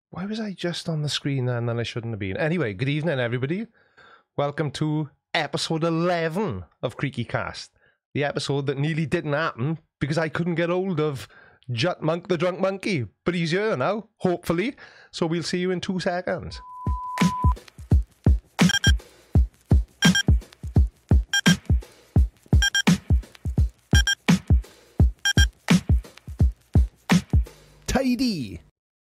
Why was I just on the screen then I shouldn't have been? Anyway, good evening, everybody. Welcome to episode 11 of Creaky Cast. The episode that nearly didn't happen because I couldn't get hold of Jut Monk the Drunk Monkey. But he's here now, hopefully. So we'll see you in 2 seconds. Tidy.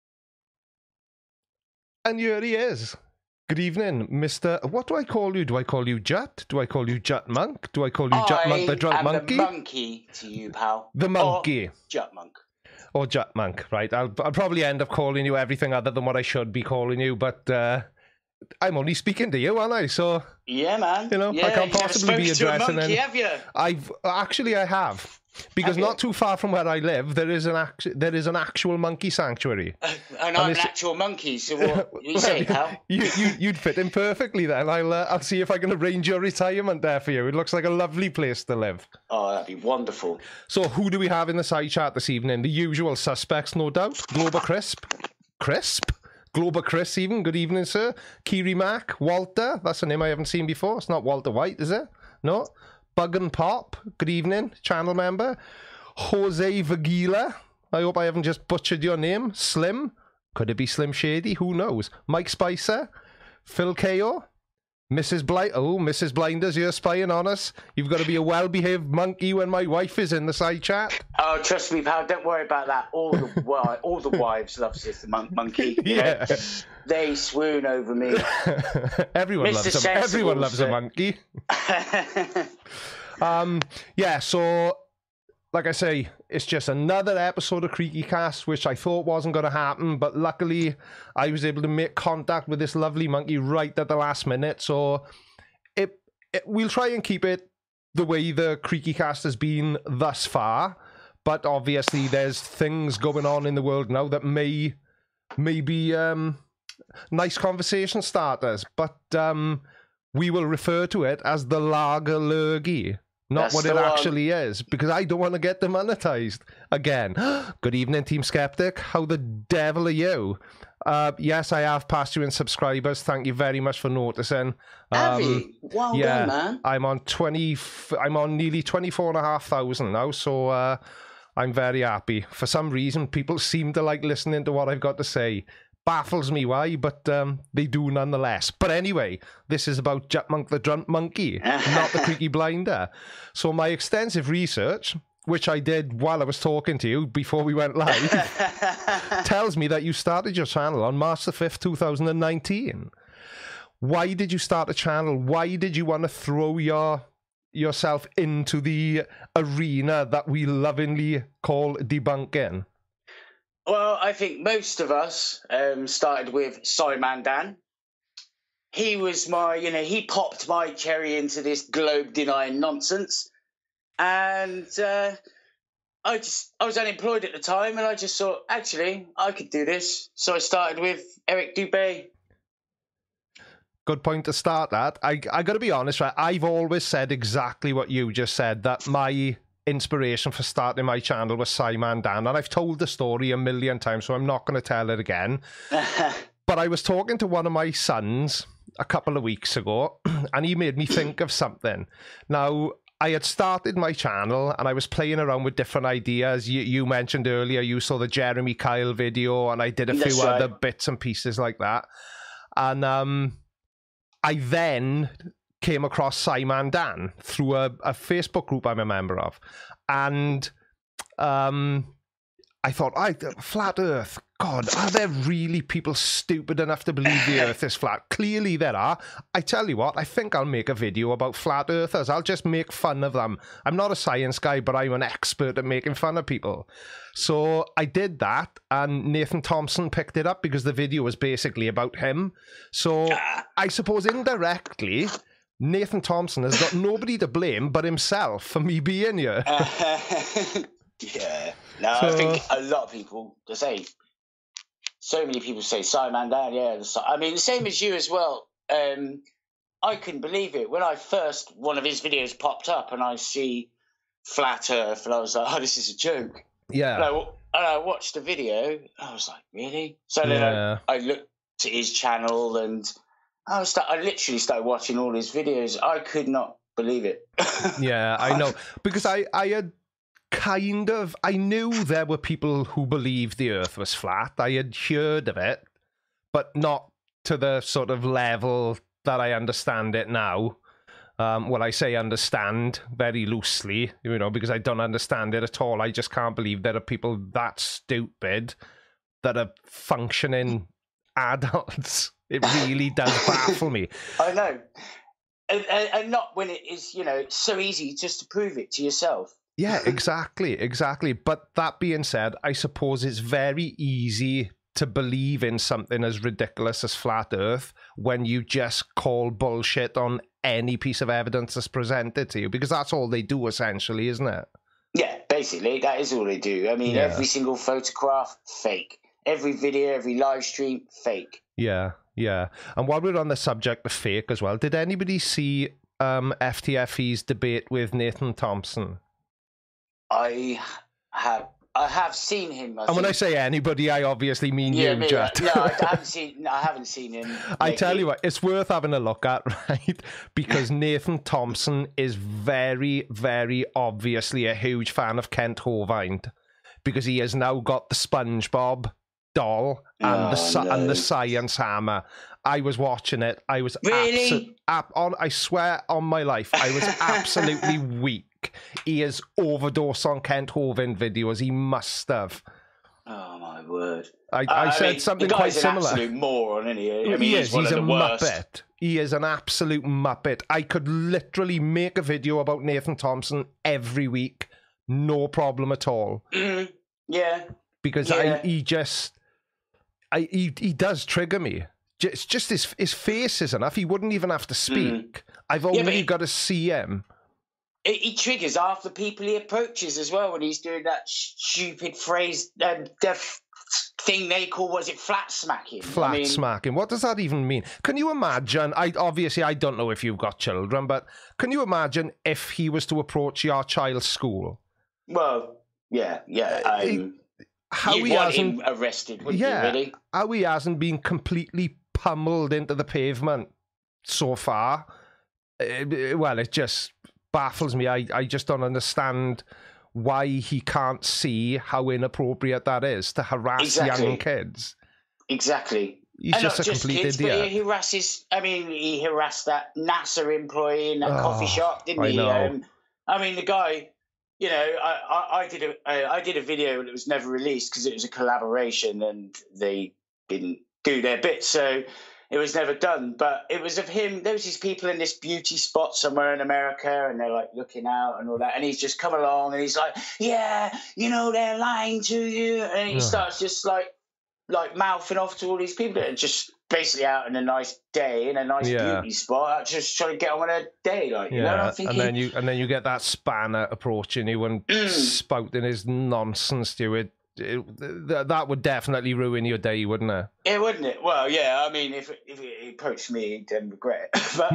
And here he is. Good evening, Mr. What do I call you? Do I call you Jut? Do I call you Jut Monk? Do I call you Jut Monk the Drunk Monkey? The monkey to you, pal. The monkey. Or Jut Monk. Or Jut Monk, right. I'll probably end up calling you everything other than what I should be calling you, but I'm only speaking to you, aren't I? So yeah, man. You know, yeah, I can't possibly be addressing him. Have you? I have. Because not too far from where I live, there is an actual monkey sanctuary. And I'm an actual monkey, so what you say, pal? You'd fit in perfectly then. I'll see if I can arrange your retirement there for you. It looks like a lovely place to live. Oh, that'd be wonderful. So who do we have in the side chat this evening? The usual suspects, no doubt. Glober Crisp. Glober Chris even. Good evening, sir. Kiri Mac. Walter. That's a name I haven't seen before. It's not Walter White, is it? No. Bug and Pop, good evening, channel member. Jose Vagila, I hope I haven't just butchered your name. Slim, could it be Slim Shady? Who knows? Mike Spicer, Phil Ko, Mrs. Blinders, you're spying on us. You've got to be a well-behaved monkey when my wife is in the side chat. Oh, trust me, pal, don't worry about that. All the wives love this monkey. Yeah. Know? They swoon over me. Everyone loves a monkey. Yeah, so like I say, it's just another episode of Creaky Cast, which I thought wasn't going to happen, but luckily I was able to make contact with this lovely monkey right at the last minute. So we'll try and keep it the way the Creaky Cast has been thus far, but obviously there's things going on in the world now that may be nice conversation starters, but we will refer to it as the Lager Lurgy, not what it actually is, because I don't want to get demonetized again. Good evening, Team Skeptic. How the devil are you? Yes, I have passed you in subscribers. Thank you very much for noticing. Have you? Well done, man. I'm on nearly 24,500 now, so I'm very happy. For some reason, people seem to like listening to what I've got to say. Baffles me why, but they do nonetheless. But anyway, this is about Jut Monk the Drunk Monkey, not the Creaky Blinder. So my extensive research, which I did while I was talking to you before we went live, tells me that you started your channel on March the 5th, 2019. Why did you start a channel? Why did you want to throw yourself into the arena that we lovingly call debunking? Well, I think most of us started with Simon Dan. He was he popped my cherry into this globe-denying nonsense. And I was unemployed at the time, and I just thought, actually, I could do this. So I started with Eric Dubé. Good point to start at. I got to be honest, right? I've always said exactly what you just said, that my inspiration for starting my channel was Simon Dan, and I've told the story a million times, so I'm not going to tell it again. But I was talking to one of my sons a couple of weeks ago, and he made me think of something. Now, I had started my channel, and I was playing around with different ideas. You mentioned earlier you saw the Jeremy Kyle video, and I did a few other bits and pieces like that. And I then came across Simon Dan through a Facebook group I'm a member of, and I thought, flat Earth, God, are there really people stupid enough to believe the Earth is flat? Clearly there are. I tell you what, I think I'll make a video about flat Earthers. I'll just make fun of them. I'm not a science guy, but I'm an expert at making fun of people. So I did that, and Nathan Thompson picked it up because the video was basically about him. So I suppose indirectly, Nathan Thompson has got nobody to blame but himself for me being here. Yeah. No, I think a lot of people, so many people say Simon Dan, yeah. I mean, the same as you as well. I couldn't believe it. When one of his videos popped up and I see Flat Earth, and I was like, oh, this is a joke. Yeah. No, And I watched the video. I was like, really? So then I looked at his channel, and I literally started watching all his videos. I could not believe it. Yeah, I know. Because I had I knew there were people who believed the Earth was flat. I had heard of it, but not to the sort of level that I understand it now. Well, I say understand very loosely, because I don't understand it at all. I just can't believe there are people that stupid that are functioning adults. It really does baffle me. I know. And not when it is, it's so easy just to prove it to yourself. Yeah, exactly. But that being said, I suppose it's very easy to believe in something as ridiculous as flat Earth when you just call bullshit on any piece of evidence that's presented to you, because that's all they do essentially, isn't it? Yeah, basically, that is all they do. I mean, every single photograph, fake. Every video, every live stream, fake. Yeah. And while we're on the subject of fake as well, did anybody see FTFE's debate with Nathan Thompson? I have seen him. And when I say anybody, I obviously mean you, Jet. No, I haven't seen him. I tell you what, it's worth having a look at, right? Because Nathan Thompson is very, very obviously a huge fan of Kent Hovind, because he has now got the SpongeBob doll and the science hammer. I was watching it. I was really I swear on my life, I was absolutely weak. He has overdosed on Kent Hovind videos. He must have. Oh my word! I said something quite similar. He's an absolute moron, isn't he? I mean, he's one of the worst. Muppet. He is an absolute muppet. I could literally make a video about Nathan Thompson every week, no problem at all. Mm-hmm. Yeah, because he does trigger me. It's just his face is enough. He wouldn't even have to speak. I've only got to see him. He triggers half the people he approaches as well when he's doing that stupid phrase, the thing they call, was it flat smacking? Smacking. What does that even mean? Can you imagine? I don't know if you've got children, but can you imagine if he was to approach your child's school? Well, yeah. How You'd he want hasn't him arrested, wouldn't you, really? How he hasn't been completely pummeled into the pavement so far. It just baffles me. I just don't understand why he can't see how inappropriate that is to harass young kids. Exactly. He's just a complete idiot. But he harassed that NASA employee in that coffee shop, didn't he? I mean, the guy, I did a video and it was never released because it was a collaboration and they didn't do their bit. So it was never done, but it was of him. There was these people in this beauty spot somewhere in America, and they're like looking out and all that. And he's just come along, and he's like, "Yeah, they're lying to you." And he starts just like mouthing off to all these people that are just basically out on a nice day in a nice beauty spot, just trying to get on with a day, And then you get that spanner approaching you and spouting his nonsense to you. That would definitely ruin your day, wouldn't it? Yeah, wouldn't it? Well, yeah. I mean, if it approached me, he'd then regret it. But,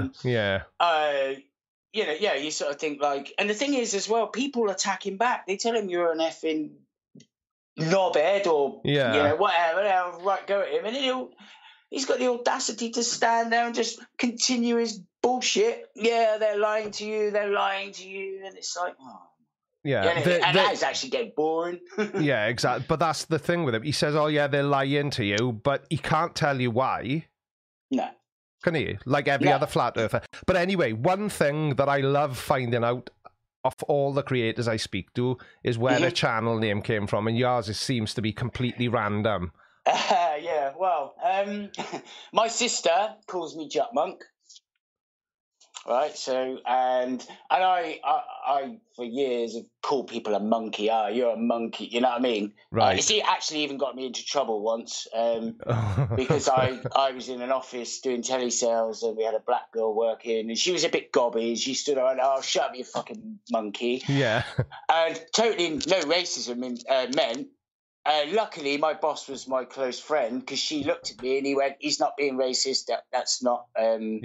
you sort of think like, and the thing is as well, people attack him back. They tell him you're an effing knobhead or whatever. Right, go at him, and he's got the audacity to stand there and just continue his bullshit. Yeah, they're lying to you, and it's like, oh. Yeah, and that is actually getting boring. Yeah, exactly. But that's the thing with him. He says, "Oh yeah, they're lying to you," but he can't tell you why. No, can he? Like every other flat earther. But anyway, one thing that I love finding out of all the creators I speak to is where the channel name came from, and yours seems to be completely random. Well, my sister calls me Jut Monk. Right, so and I for years have called people a monkey. You're a monkey, you know what I mean? Right. It actually even got me into trouble once because I was in an office doing telesales and we had a black girl working and she was a bit gobby. She stood there and, "Oh, shut up, you fucking monkey." Yeah. And totally no racism in men. Luckily, my boss was my close friend because she looked at me and he went, "He's not being racist. That's not.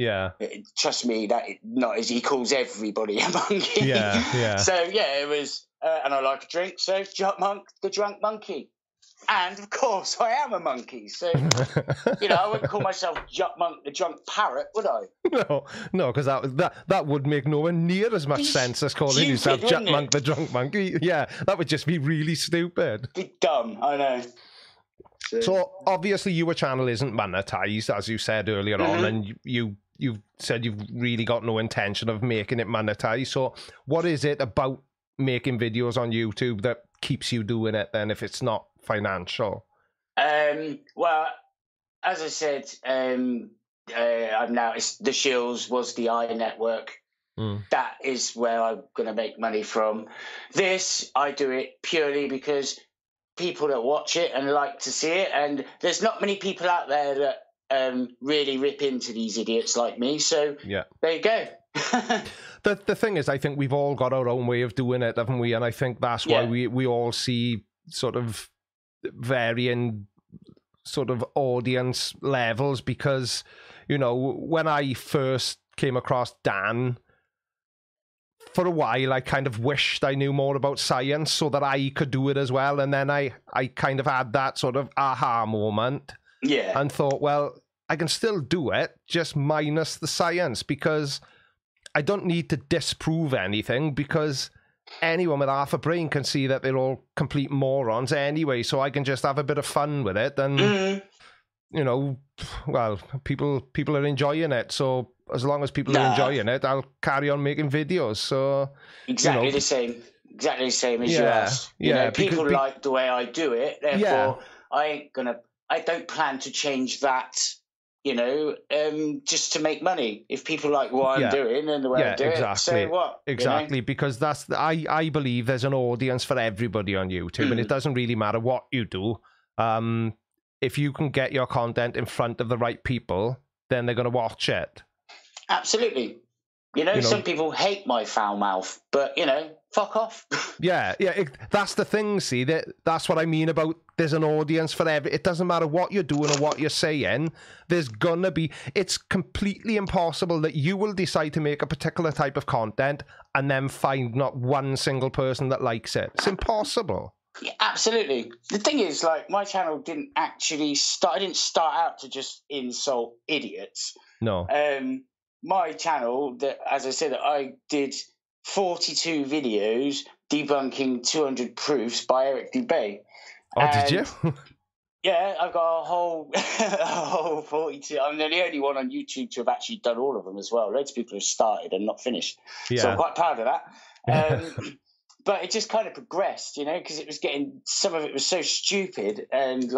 Trust me, not as he calls everybody a monkey." Yeah. So it was and I like a drink, so Jup Monk, the drunk monkey. And of course, I am a monkey, so I wouldn't call myself Jup Monk, the drunk parrot, would I? No, because that would make nowhere near as much sense as calling yourself Jup Monk, the drunk monkey. Yeah, that would just be really stupid. Be dumb, I know. So obviously, your channel isn't monetized, as you said earlier on, and you said you've really got no intention of making it monetized. So what is it about making videos on YouTube that keeps you doing it then, if it's not financial? Well, as I said, I'm now, the Shills was the iNetwork. That is where I'm going to make money from. This, I do it purely because people that watch it and like to see it, and there's not many people out there that really rip into these idiots like me. So there you go. The thing is, I think we've all got our own way of doing it, haven't we? And I think that's why we all see sort of varying sort of audience levels, because, when I first came across Dan, for a while I kind of wished I knew more about science so that I could do it as well. And then I kind of had that sort of aha moment and thought, well, I can still do it, just minus the science, because I don't need to disprove anything, because anyone with half a brain can see that they're all complete morons anyway. So I can just have a bit of fun with it, and well, people are enjoying it. So as long as people are enjoying it, I'll carry on making videos. So exactly the same as you asked. People like the way I do it, therefore I don't plan to change that. Just to make money. If people like what I'm doing and the way I do it, so what? Exactly, because I believe there's an audience for everybody on YouTube, and it doesn't really matter what you do. If you can get your content in front of the right people, then they're going to watch it. Absolutely. Some people hate my foul mouth, but, fuck off. That's the thing, see, that's what I mean about there's an audience for it doesn't matter what you're doing or what you're saying, there's gonna be, it's completely impossible that you will decide to make a particular type of content and then find not one single person that likes it. It's impossible. Yeah, absolutely. The thing is, like, my channel didn't actually I didn't start out to just insult idiots. No. My channel, as I said, I did 42 videos debunking 200 proofs by Eric Dubay. Oh, did you? Yeah, I've got a whole 42. I'm the only one on YouTube to have actually done all of them as well. Loads of people have started and not finished. Yeah. So I'm quite proud of that. But it just kind of progressed, because it was some of it was so stupid, and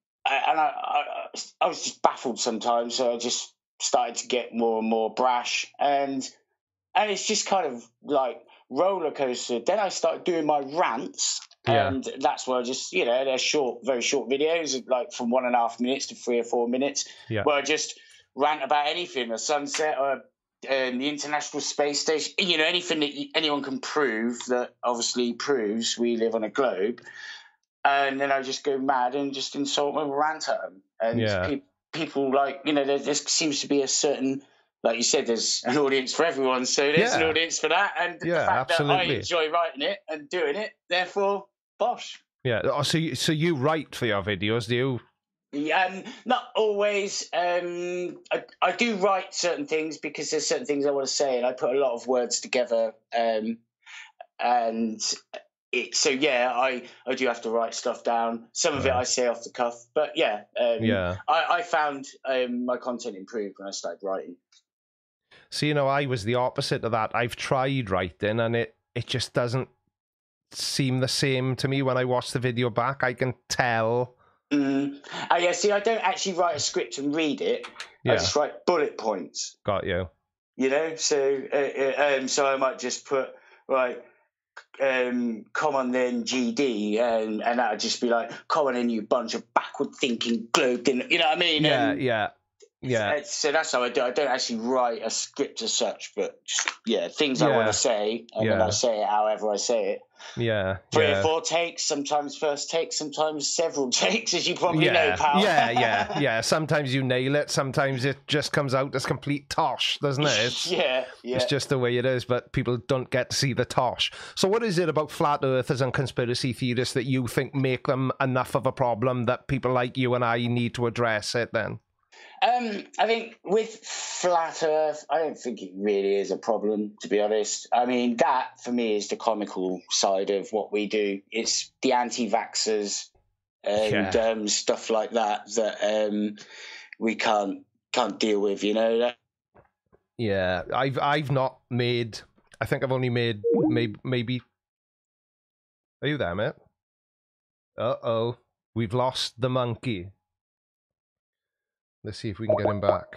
I was just baffled sometimes. So I just started to get more and more brash, and it's just kind of like roller coaster. Then I started doing my rants, and that's where I just, they're very short videos, like from 1.5 minutes to 3 or 4 minutes, where I just rant about anything, a sunset or the International Space Station, anything that anyone can prove that obviously proves we live on a globe. And then I just go mad and just insult them and rant at them. And people like, there seems to be a certain, like you said, there's an audience for everyone. So there's an audience for that. And the fact that I enjoy writing it and doing it, therefore, bosh. Yeah. Oh, so you write for your videos, do you? Not always. I do write certain things because there's certain things I want to say, and I put a lot of words together. I do have to write stuff down. Some of it I say off the cuff, but I found my content improved when I started writing. So, I was the opposite of that. I've tried writing, and it just doesn't seem the same to me when I watch the video back. I can tell. See, I don't actually write a script and read it. I just write bullet points. Got you. So I might just put come on then GD, and that'd just be like, come on in, you bunch of backward thinking globe, you know what I mean? Yeah. So that's how I do. I don't actually write a script as such, but just, things I want to say, and then I say it however I say it. Yeah. 3 or 4 takes, sometimes first takes, sometimes several takes, as you probably know, pal. Yeah. Sometimes you nail it. Sometimes it just comes out as complete tosh, doesn't it? It's just the way it is, but people don't get to see the tosh. So what is it about flat earthers and conspiracy theorists that you think make them enough of a problem that people like you and I need to address it then? I think with flat Earth, I don't think it really is a problem, to be honest. I mean, that for me is the comical side of what we do. It's the anti-vaxxers and stuff like that we can't deal with, you know. Yeah, I've not made. I think I've only made maybe. Are you there, mate? Uh-oh, we've lost the monkey. Let's see if we can get him back.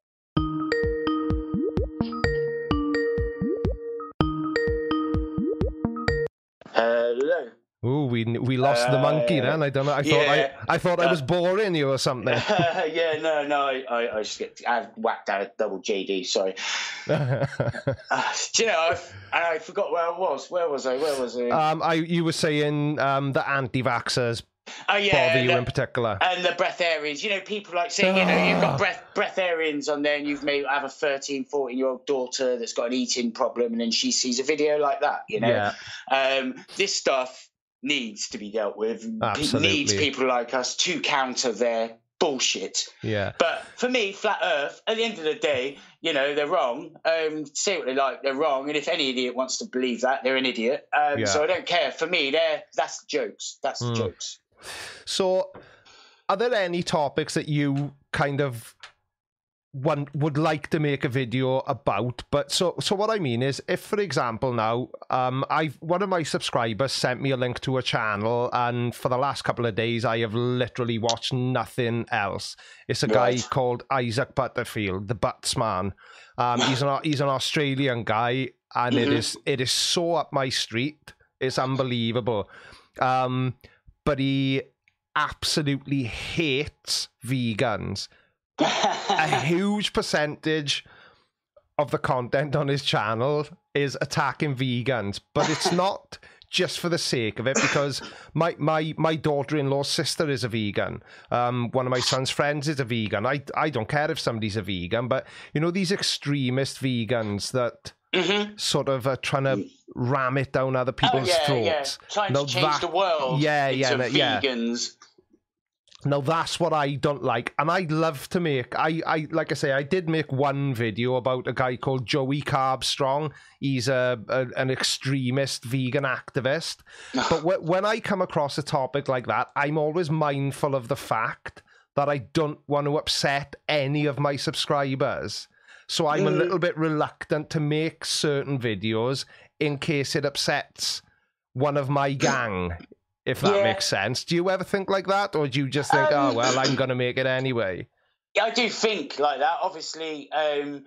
Hello. Ooh, we lost the monkey then. I don't know. I thought I was boring you or something. No. I whacked out a double JD. Sorry. Do you know? I forgot where I was. Where was I? You were saying the anti-vaxxers. Bother you in particular, and the breatharians. You know, people like saying, you've got breatharians on there, and you've maybe have a 13, 14-year-old daughter that's got an eating problem, and then she sees a video like that. You know, this stuff needs to be dealt with. Absolutely. Needs people like us to counter their bullshit. Yeah. But for me, flat Earth, at the end of the day, they're wrong. Say what they like, they're wrong. And if any idiot wants to believe that, they're an idiot. So I don't care. For me, that's the jokes. That's the jokes. So, are there any topics that you kind of would like to make a video about? But so what I mean is, if for example now, one of my subscribers sent me a link to a channel, and for the last couple of days I have literally watched nothing else. It's a guy called Isaac Butterfield, the Butts Man. He's an Australian guy, and it is so up my street. It's unbelievable. But he absolutely hates vegans. A huge percentage of the content on his channel is attacking vegans, but it's not just for the sake of it, because my daughter-in-law's sister is a vegan. One of my son's friends is a vegan. I don't care if somebody's a vegan, but these extremist vegans that sort of are trying to ram it down other people's throats. Trying to change the world into vegans. Now that's what I don't like, and I'd love to make. I like I say, I did make one video about a guy called Joey Carbstrong. He's an extremist vegan activist. But when I come across a topic like that, I'm always mindful of the fact that I don't want to upset any of my subscribers. So I'm a little bit reluctant to make certain videos in case it upsets one of my gang. If that makes sense. Do you ever think like that? Or do you just think, oh, well, I'm going to make it anyway? Yeah, I do think like that. Obviously, I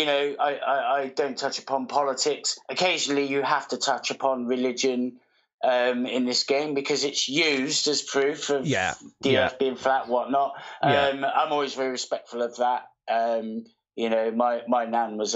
don't touch upon politics. Occasionally you have to touch upon religion in this game because it's used as proof of the Earth being flat, whatnot. I'm always very respectful of that. My nan was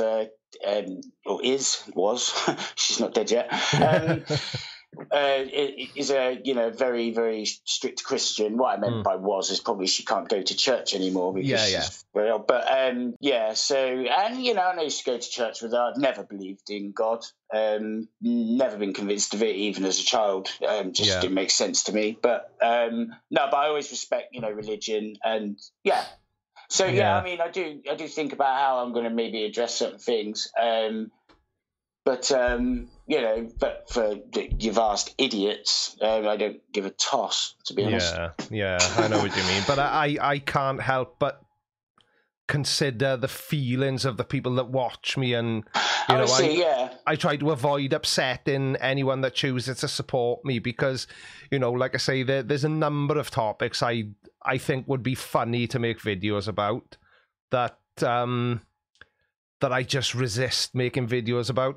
she's not dead yet. Is a very, very strict Christian. What I meant by is probably she can't go to church anymore because she's very old. But so I used to go to church with her. I've never believed in God. Never been convinced of it, even as a child. Didn't make sense to me. But but I always respect religion and So I mean, I do think about how I'm going to maybe address certain things. But for your vast idiots, I don't give a toss, to be honest. Yeah, I know what you mean. But I can't help but consider the feelings of the people that watch me, and I try to avoid upsetting anyone that chooses to support me because, like I say, there's a number of topics I think would be funny to make videos about that I just resist making videos about.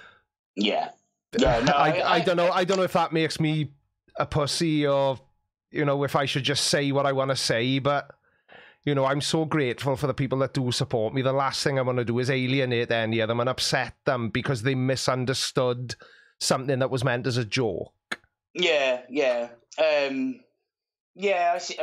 I don't know. I don't know if that makes me a pussy or, if I should just say what I want to say. But, you know, I'm so grateful for the people that do support me. The last thing I want to do is alienate any of them and upset them because they misunderstood something that was meant as a joke. Yeah. Yeah, I see.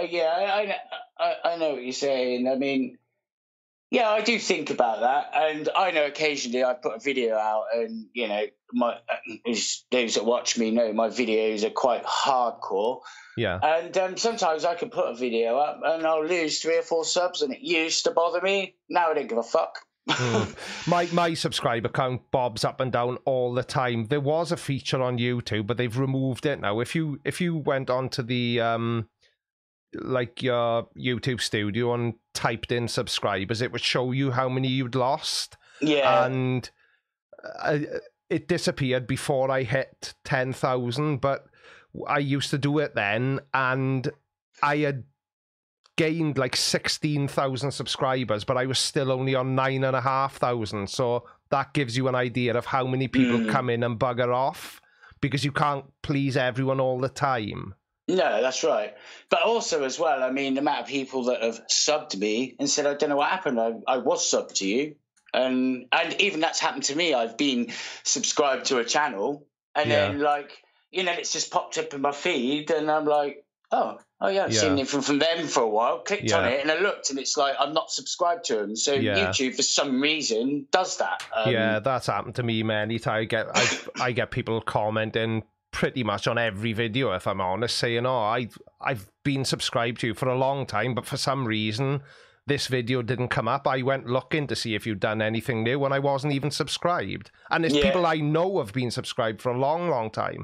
I know what you're saying. I mean, yeah, I do think about that, and I know occasionally I put a video out, and you know, those that watch me know my videos are quite hardcore. Yeah. And sometimes I can put a video up, and I'll lose 3 or 4 subs, and it used to bother me. Now I don't give a fuck. My subscriber count bobs up and down all the time. There was a feature on YouTube, but they've removed it now. If you went onto the like your YouTube studio and typed in subscribers, it would show you how many you'd lost. Yeah. And it disappeared before I hit 10,000, but I used to do it then, and I had gained like 16,000 subscribers, but I was still only on 9,500. So that gives you an idea of how many people come in and bugger off, because you can't please everyone all the time. No, that's right. But also as well, I mean, the amount of people that have subbed me and said, I don't know what happened. I was subbed to you. And even that's happened to me. I've been subscribed to a channel, and then like, you know, it's just popped up in my feed, and I'm like, oh yeah, I've seen it from them for a while, clicked on it, and I looked, and it's like, I'm not subscribed to them. So YouTube, for some reason, does that. Yeah, that's happened to me many times. I get people commenting pretty much on every video, if I'm honest, saying, oh, I've been subscribed to you for a long time, but for some reason this video didn't come up. I went looking to see if you'd done anything new, and I wasn't even subscribed. And there's people I know have been subscribed for a long time.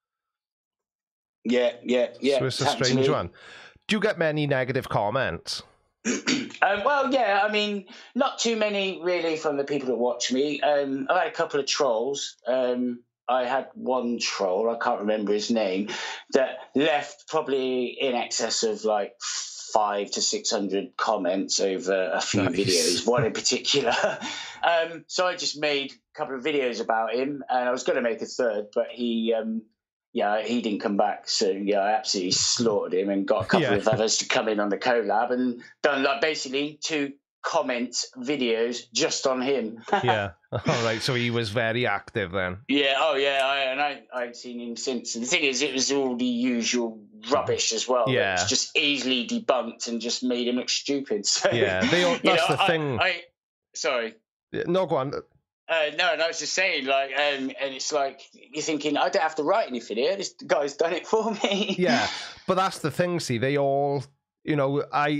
Yeah. So it's a strange one. Do you get many negative comments? Well, yeah, I mean, not too many really from the people that watch me. I've had a couple of trolls. I had one troll, I can't remember his name, that left probably in excess of like 500 to 600 comments over a few videos, one in particular. So I just made a couple of videos about him, and I was going to make a third, but he didn't come back. So I absolutely slaughtered him and got a couple of others to come in on the collab and done like basically 2 comment videos just on him. Yeah. All right. So he was very active then. Yeah. Oh yeah. I'd seen him since. And the thing is, it was all the usual rubbish as well. Yeah. It's just easily debunked and just made him look stupid. So yeah. That's the thing. Sorry. No, go on. No, I was just saying, like, and it's like you're thinking, I don't have to write anything here. This guy's done it for me. Yeah, but that's the thing. See, they all, you know,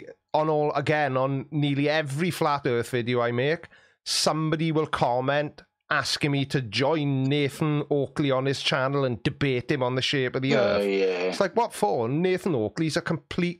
on nearly every flat Earth video I make, somebody will comment asking me to join Nathan Oakley on his channel and debate him on the shape of the Earth. Yeah. It's like, what for? Nathan Oakley's a complete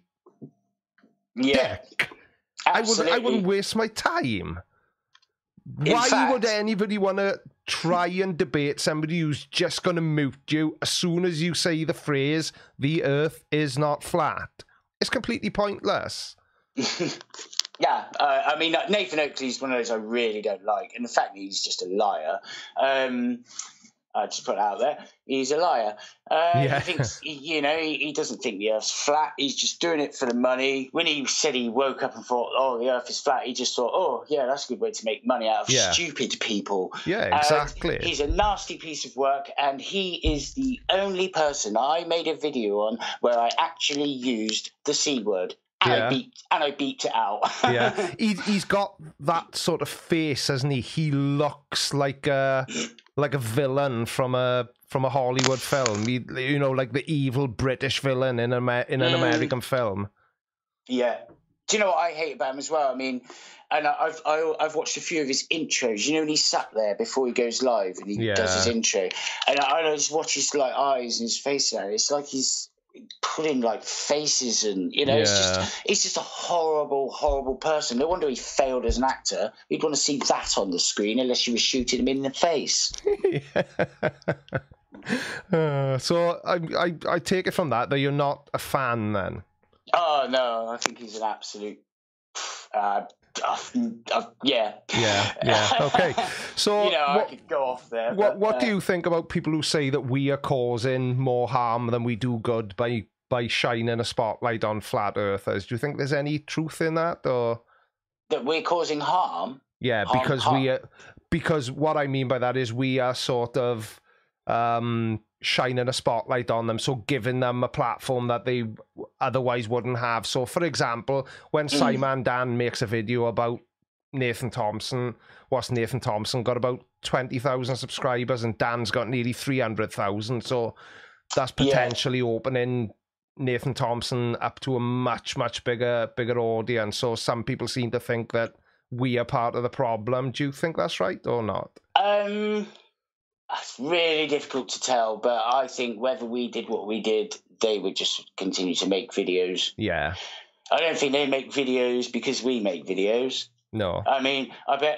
dick. Absolutely. I wouldn't waste my time. Why would anybody want to try and debate somebody who's just going to mute you as soon as you say the phrase, the Earth is not flat? It's completely pointless. Yeah, I mean, Nathan Oakley's one of those I really don't like. And the fact that he's just a liar, I just put it out there, he's a liar. He thinks, he doesn't think the Earth's flat. He's just doing it for the money. When he said he woke up and thought, oh, the Earth is flat, he just thought, oh, yeah, that's a good way to make money out of stupid people. Yeah, exactly. He's a nasty piece of work, and he is the only person I made a video on where I actually used the C word. And I beeped it out. Yeah, he's got that sort of face, hasn't he? He looks like a villain from a Hollywood film. Like the evil British villain in an American film. Yeah. Do you know what I hate about him as well? I mean, and I've watched a few of his intros. You know, when he's sat there before he goes live and he does his intro, and I just watch his like eyes and his face there. It's like he's putting like faces and it's just a horrible person. No wonder he failed as an actor. You'd want to see that on the screen unless you were shooting him in the face. So I take it from that you're not a fan then. Oh no, I think he's an absolute yeah. Okay. So I could go off there. What do you think about people who say that we are causing more harm than we do good by by shining a spotlight on flat earthers. Do you think there's any truth in that, or that we're causing harm? Yeah, because because what I mean by that is we are sort of shining a spotlight on them, so giving them a platform that they otherwise wouldn't have. So, for example, when Simon Dan makes a video about Nathan Thompson, what's Nathan Thompson got about 20,000 subscribers, and Dan's got nearly 300,000. So that's potentially opening Nathan Thompson up to a much bigger audience. So some people seem to think that we are part of the problem. Do you think that's right or not? It's really difficult to tell, but I think whether we did what we did, they would just continue to make videos. Yeah. I don't think they make videos because we make videos. No. I mean, I bet,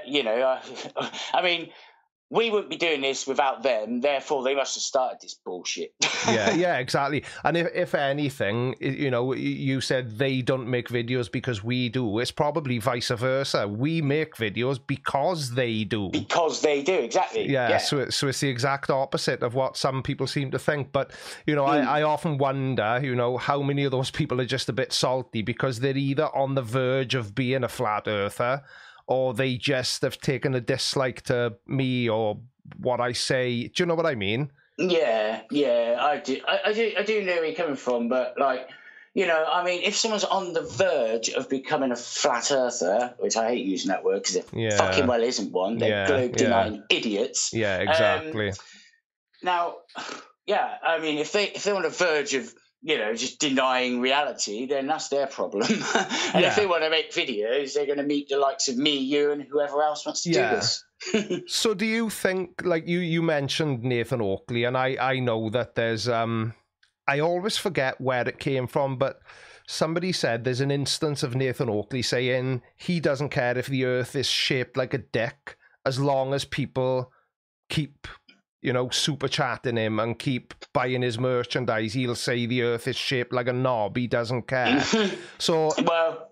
I mean, we wouldn't be doing this without them, therefore they must have started this bullshit. yeah, exactly. And if anything, you said they don't make videos because we do. It's probably vice versa. We make videos because they do. Because they do, exactly. Yeah. So it's the exact opposite of what some people seem to think. But, I often wonder, how many of those people are just a bit salty because they're either on the verge of being a flat earther, or they just have taken a dislike to me or what I say. Do you know what I mean? Yeah, I do. I do know where you're coming from, but I mean, if someone's on the verge of becoming a flat earther, which I hate using that word because it fucking well isn't one. They're globe-denying idiots. Yeah, exactly. Now, I mean, if they're on the verge of just denying reality, then that's their problem. And if they want to make videos, they're going to meet the likes of me, you, and whoever else wants to do this. So do you think, like you mentioned Nathan Oakley, and I know that there's, I always forget where it came from, but somebody said there's an instance of Nathan Oakley saying he doesn't care if the earth is shaped like a dick as long as people keep super chatting him and keep buying his merchandise. He'll say the earth is shaped like a knob. He doesn't care. So, well,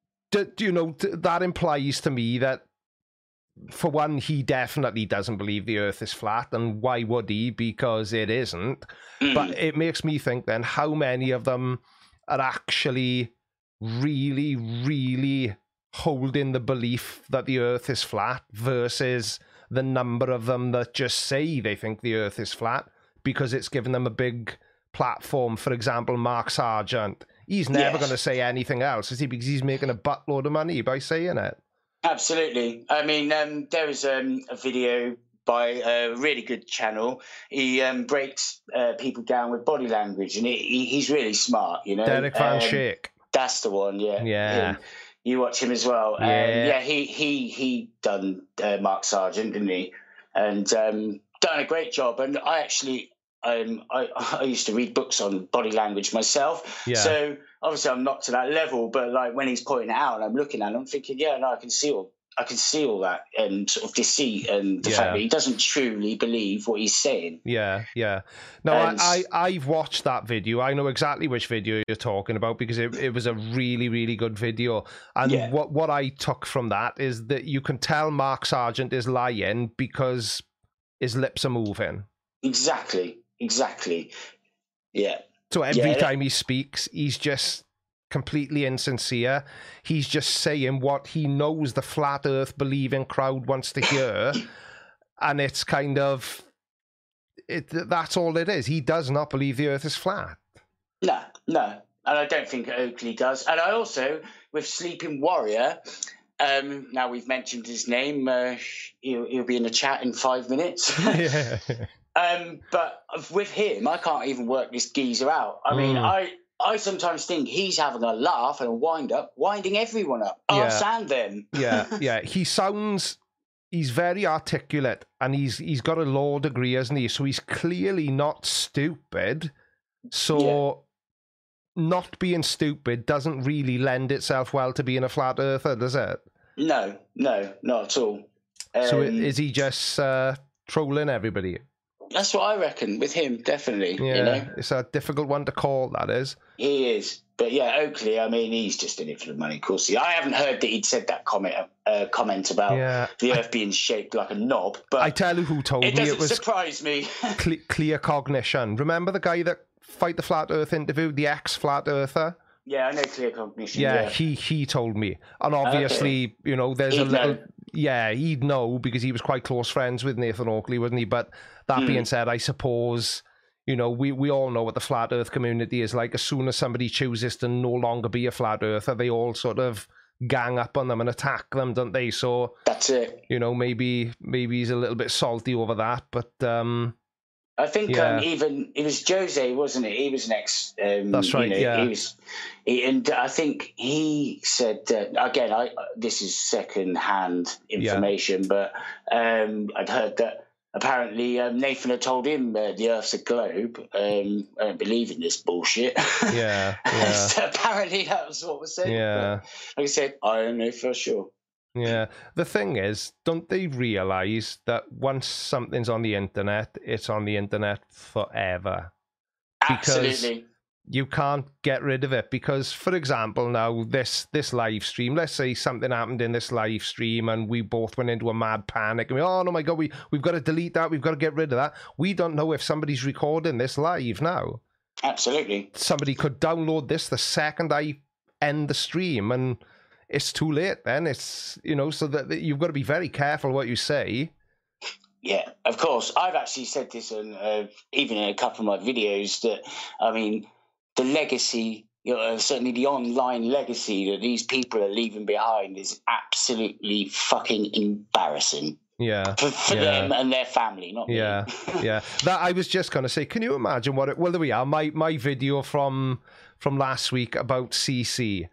that implies to me that, for one, he definitely doesn't believe the earth is flat. And why would he? Because it isn't. But it makes me think then, how many of them are actually really, really holding the belief that the earth is flat versus the number of them that just say they think the earth is flat because it's given them a big platform. For example, Mark Sargent. He's never going to say anything else, is he? Because he's making a buttload of money by saying it. Absolutely. I mean, there was a video by a really good channel. He breaks people down with body language, and he's really smart, Derek Van Schaik. That's the one, Yeah. You watch him as well. He done Mark Sargent, didn't he? And done a great job. And I actually, I used to read books on body language myself. Yeah. So obviously I'm not to that level, but like when he's pointing it out and I'm looking at it, I'm thinking, I can see all that and sort of deceit and the fact that he doesn't truly believe what he's saying. Yeah. No, I've watched that video. I know exactly which video you're talking about because it was a really, really good video. And what I took from that is that you can tell Mark Sargent is lying because his lips are moving. Exactly. Yeah. So every time he speaks, he's just completely insincere. He's just saying what he knows the flat earth believing crowd wants to hear. And it's kind of that's all it is. He does not believe the earth is flat. No. And I don't think Oakley does. And I also, with Sleeping Warrior, now we've mentioned his name, he'll be in the chat in 5 minutes. Yeah. But with him, I can't even work this geezer out. I mean, I sometimes think he's having a laugh and a winding everyone up. Us and them. Yeah. He's very articulate and he's got a law degree, hasn't he? So he's clearly not stupid. So not being stupid doesn't really lend itself well to being a flat earther, does it? No, not at all. So is he just trolling everybody? That's what I reckon with him, definitely. Yeah, it's a difficult one to call, that is. He is. But Oakley, I mean, he's just in it for the money, of course. I haven't heard that he'd said that comment about the earth being shaped like a knob. But I tell you who told me it was... surprise me. Clear Cognition. Remember the guy that Fight the Flat Earth interviewed, the ex-Flat Earther. Yeah, I know Clear Cognition. Yeah, he told me. And obviously, you know, there's a little... Yeah, he'd know because he was quite close friends with Nathan Oakley, wasn't he? But that being said, I suppose, you know, we all know what the Flat Earth community is like. As soon as somebody chooses to no longer be a Flat Earther, they all sort of gang up on them and attack them, don't they? So that's it. You know, maybe he's a little bit salty over that, but I think even it was Jose, wasn't it? He was an ex. That's right. You know, and I think he said again. This is second-hand information, but I'd heard that apparently Nathan had told him the Earth's a globe. I don't believe in this bullshit. Yeah. So apparently that was what was said. Yeah. But like I said, I don't know for sure. Yeah. The thing is, don't they realise that once something's on the internet, it's on the internet forever? Absolutely. You can't get rid of it because, for example, now this live stream, let's say something happened in this live stream and we both went into a mad panic and oh my God, we've got to delete that, we've got to get rid of that. We don't know if somebody's recording this live now. Absolutely. Somebody could download this the second I end the stream and it's too late then. It's, you know, so that you've got to be very careful what you say. Yeah, of course. I've actually said this on even in a couple of my videos that, I mean, the legacy, you know, certainly the online legacy that these people are leaving behind is absolutely fucking embarrassing. Yeah, for them and their family, not me. Yeah. That I was just going to say. Can you imagine what? Well, there we are. My video from last week about CC.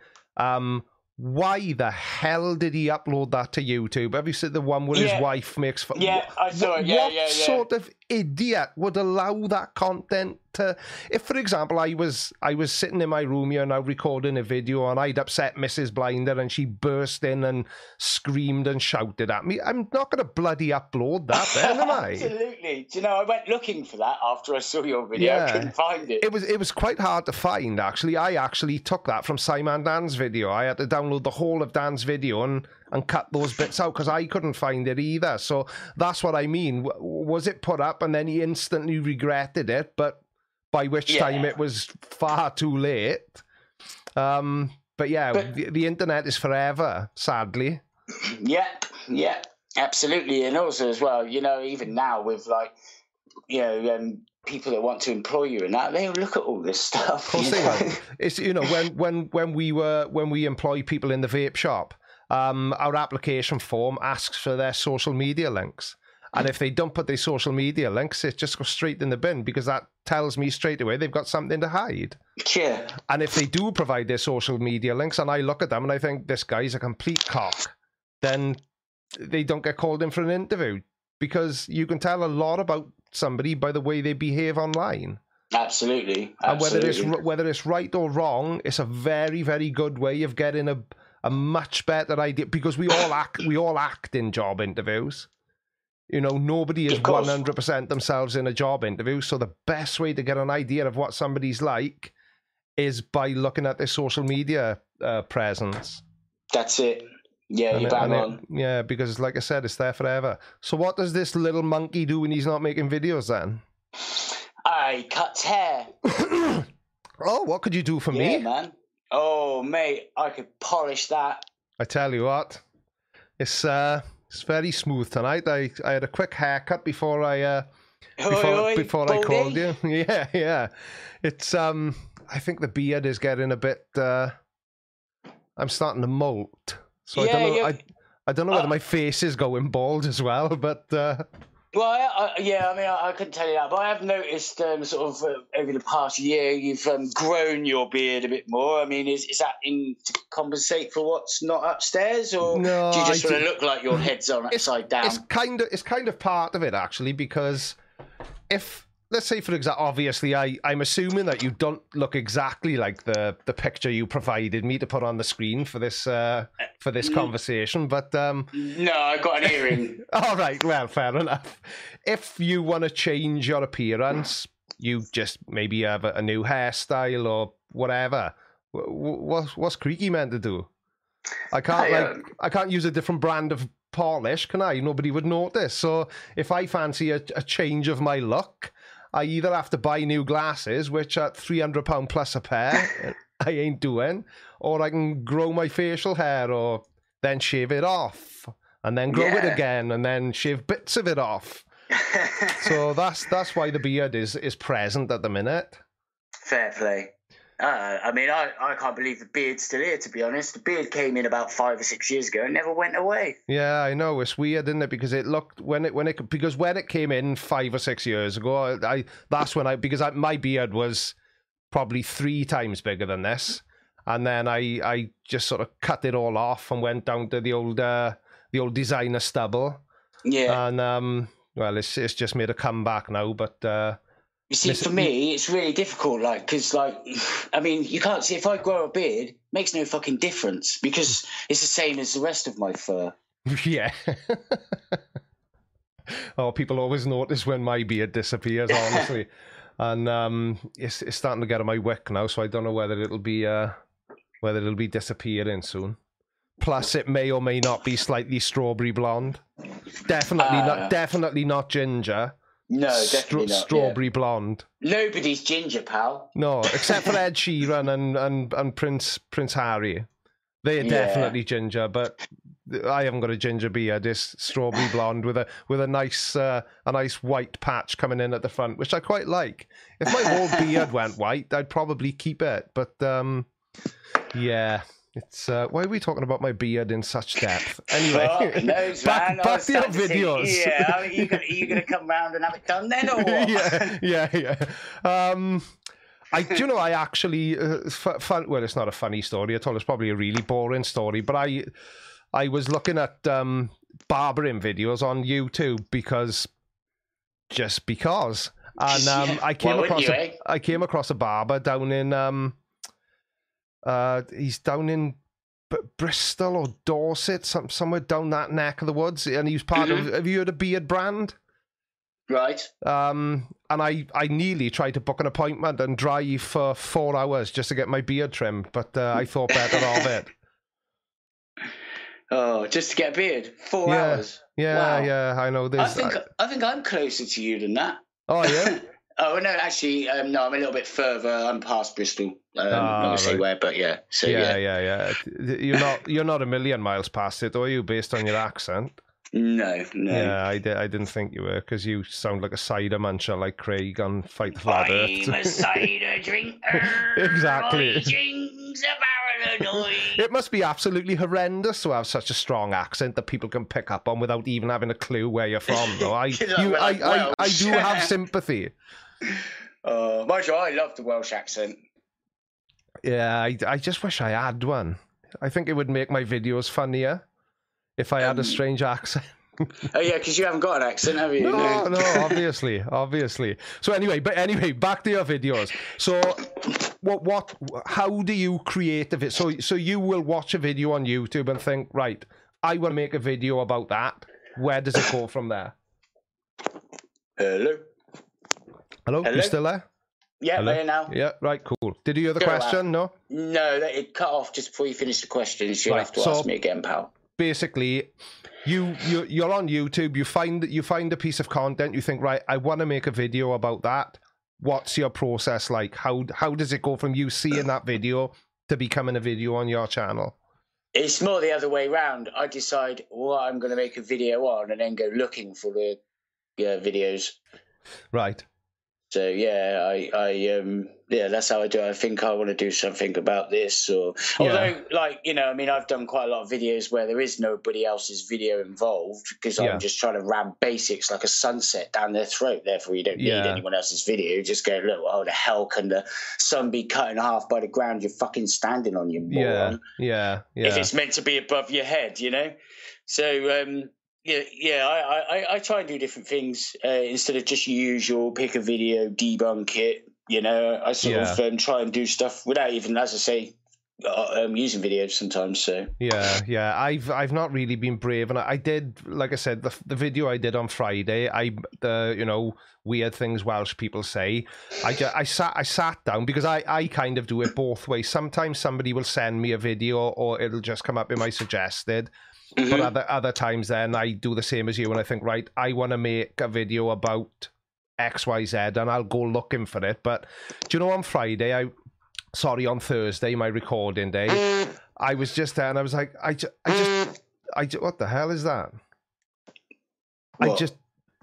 Why the hell did he upload that to YouTube? Have you seen the one where his wife makes fun? Yeah, I saw it. What sort of idiot would allow that content to... If, for example, I was sitting in my room here now recording a video and I'd upset Mrs. Blinder and she burst in and screamed and shouted at me, I'm not going to bloody upload that then, am I? Absolutely. Do you know, I went looking for that after I saw your video. I couldn't find it. It was quite hard to find, actually. I actually took that from Simon Dan's video. I had to download the whole of Dan's video and cut those bits out because I couldn't find it either. So that's what I mean. Was it put up and then he instantly regretted it, but by which time it was far too late. But the internet is forever, sadly. Yeah, absolutely. And also as well, you know, even now with like, you know, people that want to employ you and that, they'll look at all this stuff. Of course they will. It's, you know, when we employ people in the vape shop, our application form asks for their social media links. And if they don't put their social media links, it just goes straight in the bin because that tells me straight away they've got something to hide. Yeah. And if they do provide their social media links and I look at them and I think this guy's a complete cock, then they don't get called in for an interview because you can tell a lot about somebody by the way they behave online. Absolutely. And whether it's right or wrong, it's a very, very good way of getting a much better idea because we all act in job interviews. You know, nobody is 100% themselves in a job interview. So the best way to get an idea of what somebody's like is by looking at their social media presence. That's it. Yeah, you're bang on. Yeah, because like I said, it's there forever. So what does this little monkey do when he's not making videos then? He cuts hair. Oh, what could you do for me? Yeah, man. Oh, mate, I could polish that. I tell you what, it's very smooth tonight. I had a quick haircut before I called you. Yeah. It's I think the beard is getting a bit. I'm starting to molt, so I don't know whether my face is going bald as well, but. Well, I couldn't tell you that, but I have noticed sort of over the past year you've grown your beard a bit more. I mean, is that to compensate for what's not upstairs, or do you just want to look like your head's on upside down? It's kind of part of it actually, because if let's say, for example, obviously I'm assuming that you don't look exactly like the picture you provided me to put on the screen for this conversation, but no, I got an earring. All right, well, fair enough. If you want to change your appearance, you just maybe have a new hairstyle or whatever. What's Creaky meant to do? I can't use a different brand of polish, can I? Nobody would notice. So if I fancy a change of my look, I either have to buy new glasses, which at £300 plus a pair, I ain't doing, or I can grow my facial hair, or then shave it off, and then grow it again, and then shave bits of it off. So that's why the beard is present at the minute. Fair play. I mean, I can't believe the beard's still here, to be honest. The beard came in about 5 or 6 years ago and never went away. Yeah, I know. It's weird, isn't it? Because it looked when it came in 5 or 6 years ago, my beard was probably 3 times bigger than this, and then I just sort of cut it all off and went down to the old designer stubble. Yeah. And well, it's just made a comeback now, but. You see, for me, it's really difficult, because, I mean, you can't see, if I grow a beard, it makes no fucking difference, because it's the same as the rest of my fur. Yeah. Oh, people always notice when my beard disappears, honestly. And it's starting to get on my wick now, so I don't know whether it'll be disappearing soon. Plus, it may or may not be slightly strawberry blonde. Definitely not ginger. No, definitely not. Strawberry blonde. Nobody's ginger, pal. No, except for Ed Sheeran and Prince Harry. They're definitely ginger, but I haven't got a ginger beard. It's strawberry blonde with a nice white patch coming in at the front, which I quite like. If my whole beard went white, I'd probably keep it. But yeah. It's why are we talking about my beard in such depth? Anyway, back to your videos. Yeah, are you gonna come round and have it done then, or what? yeah. I actually well, it's not a funny story at all. It's probably a really boring story. But I was looking at barbering videos on YouTube because, and I came across a barber down in he's down in Bristol or Dorset, somewhere down that neck of the woods, and he was part of. Have you heard of Beard Brand? Right. And I nearly tried to book an appointment and drive for 4 hours just to get my beard trimmed, but I thought better of it. Oh, just to get a beard? 4 hours? Yeah, wow. Yeah. I know this. I think I'm closer to you than that. Oh yeah. Oh no, actually, no. I'm a little bit further. I'm past Bristol. I'm not gonna say where, but yeah. So yeah. You're not a million miles past it, are you? Based on your accent. No. Yeah, I didn't think you were, because you sound like a cider muncher, like Craig on Fight the Flat Earth. I'm a cider drinker. Exactly. A paranoid. It must be absolutely horrendous to have such a strong accent that people can pick up on without even having a clue where you're from. Though I do have sympathy. Mind you, I love the Welsh accent. Yeah, I just wish I had one. I think it would make my videos funnier if I had a strange accent. Oh yeah, because you haven't got an accent, have you? No, obviously. So anyway, back to your videos. So how do you create a video? So you will watch a video on YouTube and think, right, I want to make a video about that. Where does it go from there? Hello? You still there? Yeah, I'm here now. Yeah, right, cool. Did you hear the question? No, it cut off just before you finished the questions. You'll have to ask me again, pal. Basically, you're on YouTube. You find a piece of content. You think, right, I want to make a video about that. What's your process like? How does it go from you seeing that video to becoming a video on your channel? It's more the other way around. I decide what I'm going to make a video on, and then go looking for the videos. Right. So that's how I do it. I think I want to do something about this, although I've done quite a lot of videos where there is nobody else's video involved, because I'm just trying to ram basics like a sunset down their throat. Therefore, you don't need anyone else's video. Just go, look, how the hell can the sun be cut in half by the ground you're fucking standing on, you moron? Yeah. If it's meant to be above your head, So. I try and do different things instead of just usual pick a video, debunk it. I sort of try and do stuff without even, as I say, using videos sometimes. So I've not really been brave, and I did, like I said, the video I did on Friday. Weird things Welsh people say. I sat down, because I kind of do it both ways. Sometimes somebody will send me a video, or it'll just come up in my suggested. But other times then I do the same as you, and I think, right, I want to make a video about XYZ, and I'll go looking for it. But do you know, on on Thursday, my recording day, I was just there and I was like, what the hell is that? What?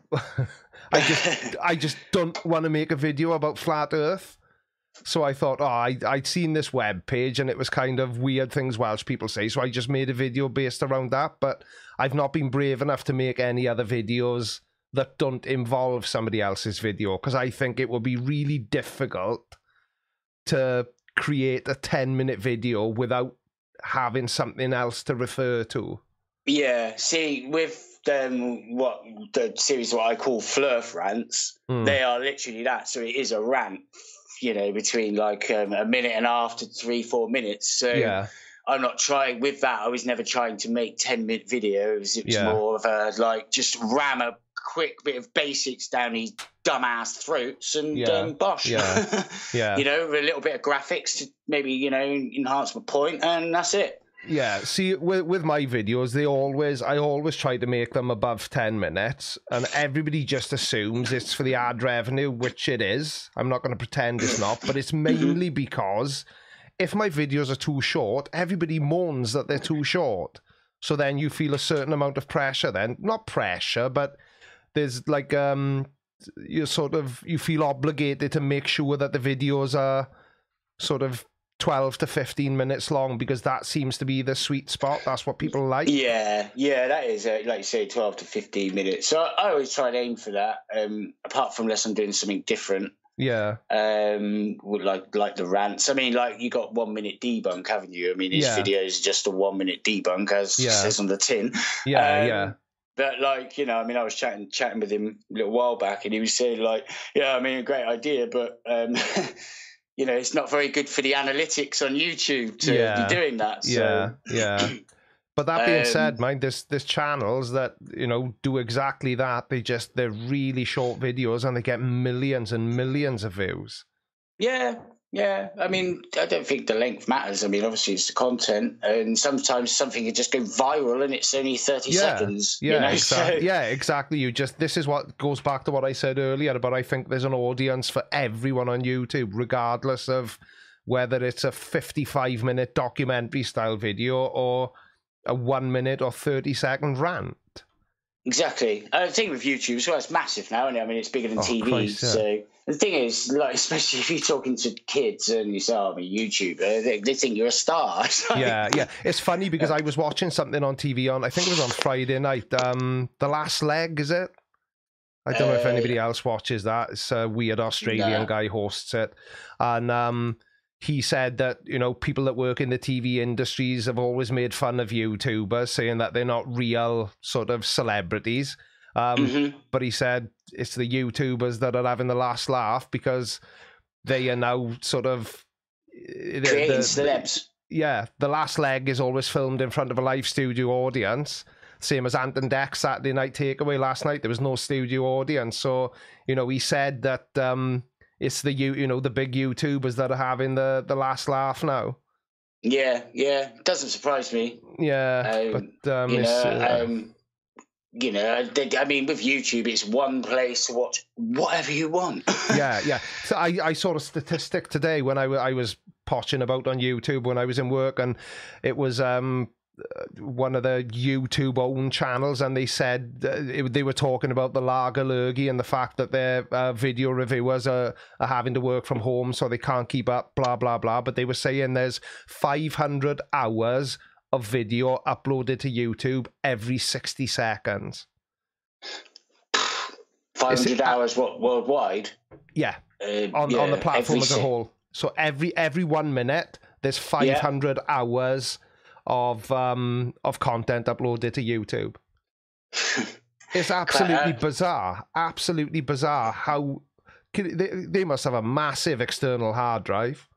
I just don't want to make a video about flat Earth. So I thought, I'd seen this web page and it was kind of weird things Welsh people say. So I just made a video based around that. But I've not been brave enough to make any other videos that don't involve somebody else's video, because I think it will be really difficult to create a 10-minute video without having something else to refer to. Yeah, see, with what the series, what I call Flurf rants, they are literally that. So it is a rant, between like a minute and a half to 3-4 minutes. So yeah. I'm not trying with that. I was never trying to make 10-minute videos. It was more of a just ram a quick bit of basics down these dumbass throats and bosh. Yeah. Yeah. A little bit of graphics to maybe, enhance my point, and that's it. Yeah, see, with my videos, I always try to make them above 10 minutes, and everybody just assumes it's for the ad revenue, which it is. I'm not going to pretend it's not, but it's mainly because if my videos are too short, everybody moans that they're too short. So then you feel a certain amount of pressure then. Not pressure, but there's like, you feel obligated to make sure that the videos are sort of 12 to 15 minutes long, because that seems to be the sweet spot. That's what people like. Yeah, that is, like you say, 12 to 15 minutes. So I always try to aim for that, apart from unless I'm doing something different. Yeah. Like the rants. I mean, like, you got 1 minute debunk, haven't you? I mean, his video is just a 1 minute debunk, as it says on the tin. Yeah. But like, I mean, I was chatting with him a little while back, and he was saying like, yeah, I mean, a great idea, but it's not very good for the analytics on YouTube to be doing that. So. Yeah. But that being said, mind, there's channels that, do exactly that. They're really short videos and they get millions and millions of views. Yeah. I mean, I don't think the length matters. I mean, obviously it's the content, and sometimes something can just go viral and it's only 30 seconds. Yeah, exactly. Yeah, exactly. This is what goes back to what I said earlier, but I think there's an audience for everyone on YouTube, regardless of whether it's a 55-minute documentary style video or a 1 minute or 30-second rant. Exactly. The thing with YouTube, so it's massive now, isn't it? I mean, it's bigger than TV. Christ, yeah. So the thing is, like, especially if you're talking to kids and you say, "Oh, I'm a YouTuber," they think you're a star. Yeah. It's funny because I was watching something on TV I think it was on Friday night. The Last Leg, is it? I don't know if anybody else watches that. It's a weird Australian guy hosts it, and he said that, people that work in the TV industries have always made fun of YouTubers, saying that they're not real sort of celebrities. But he said it's the YouTubers that are having the last laugh, because they are now sort of creating celebs. The Last Leg is always filmed in front of a live studio audience. Same as Ant and Dec Saturday Night Takeaway last night. There was no studio audience. So, he said that it's the the big YouTubers that are having the last laugh now. Yeah, doesn't surprise me. Yeah, but I mean, with YouTube, it's one place to watch whatever you want. yeah. So I saw a statistic today when I was potching about on YouTube when I was in work, and it was one of the YouTube owned channels, and they said they were talking about the lager lurgy and the fact that their video reviewers are having to work from home, so they can't keep up, blah blah blah. But they were saying there's 500 hours of video uploaded to YouTube every 60 seconds. 500 hours worldwide? Yeah, on the platform as a whole. So every 1 minute there's 500 hours of content uploaded to YouTube. It's absolutely bizarre how they must have a massive external hard drive.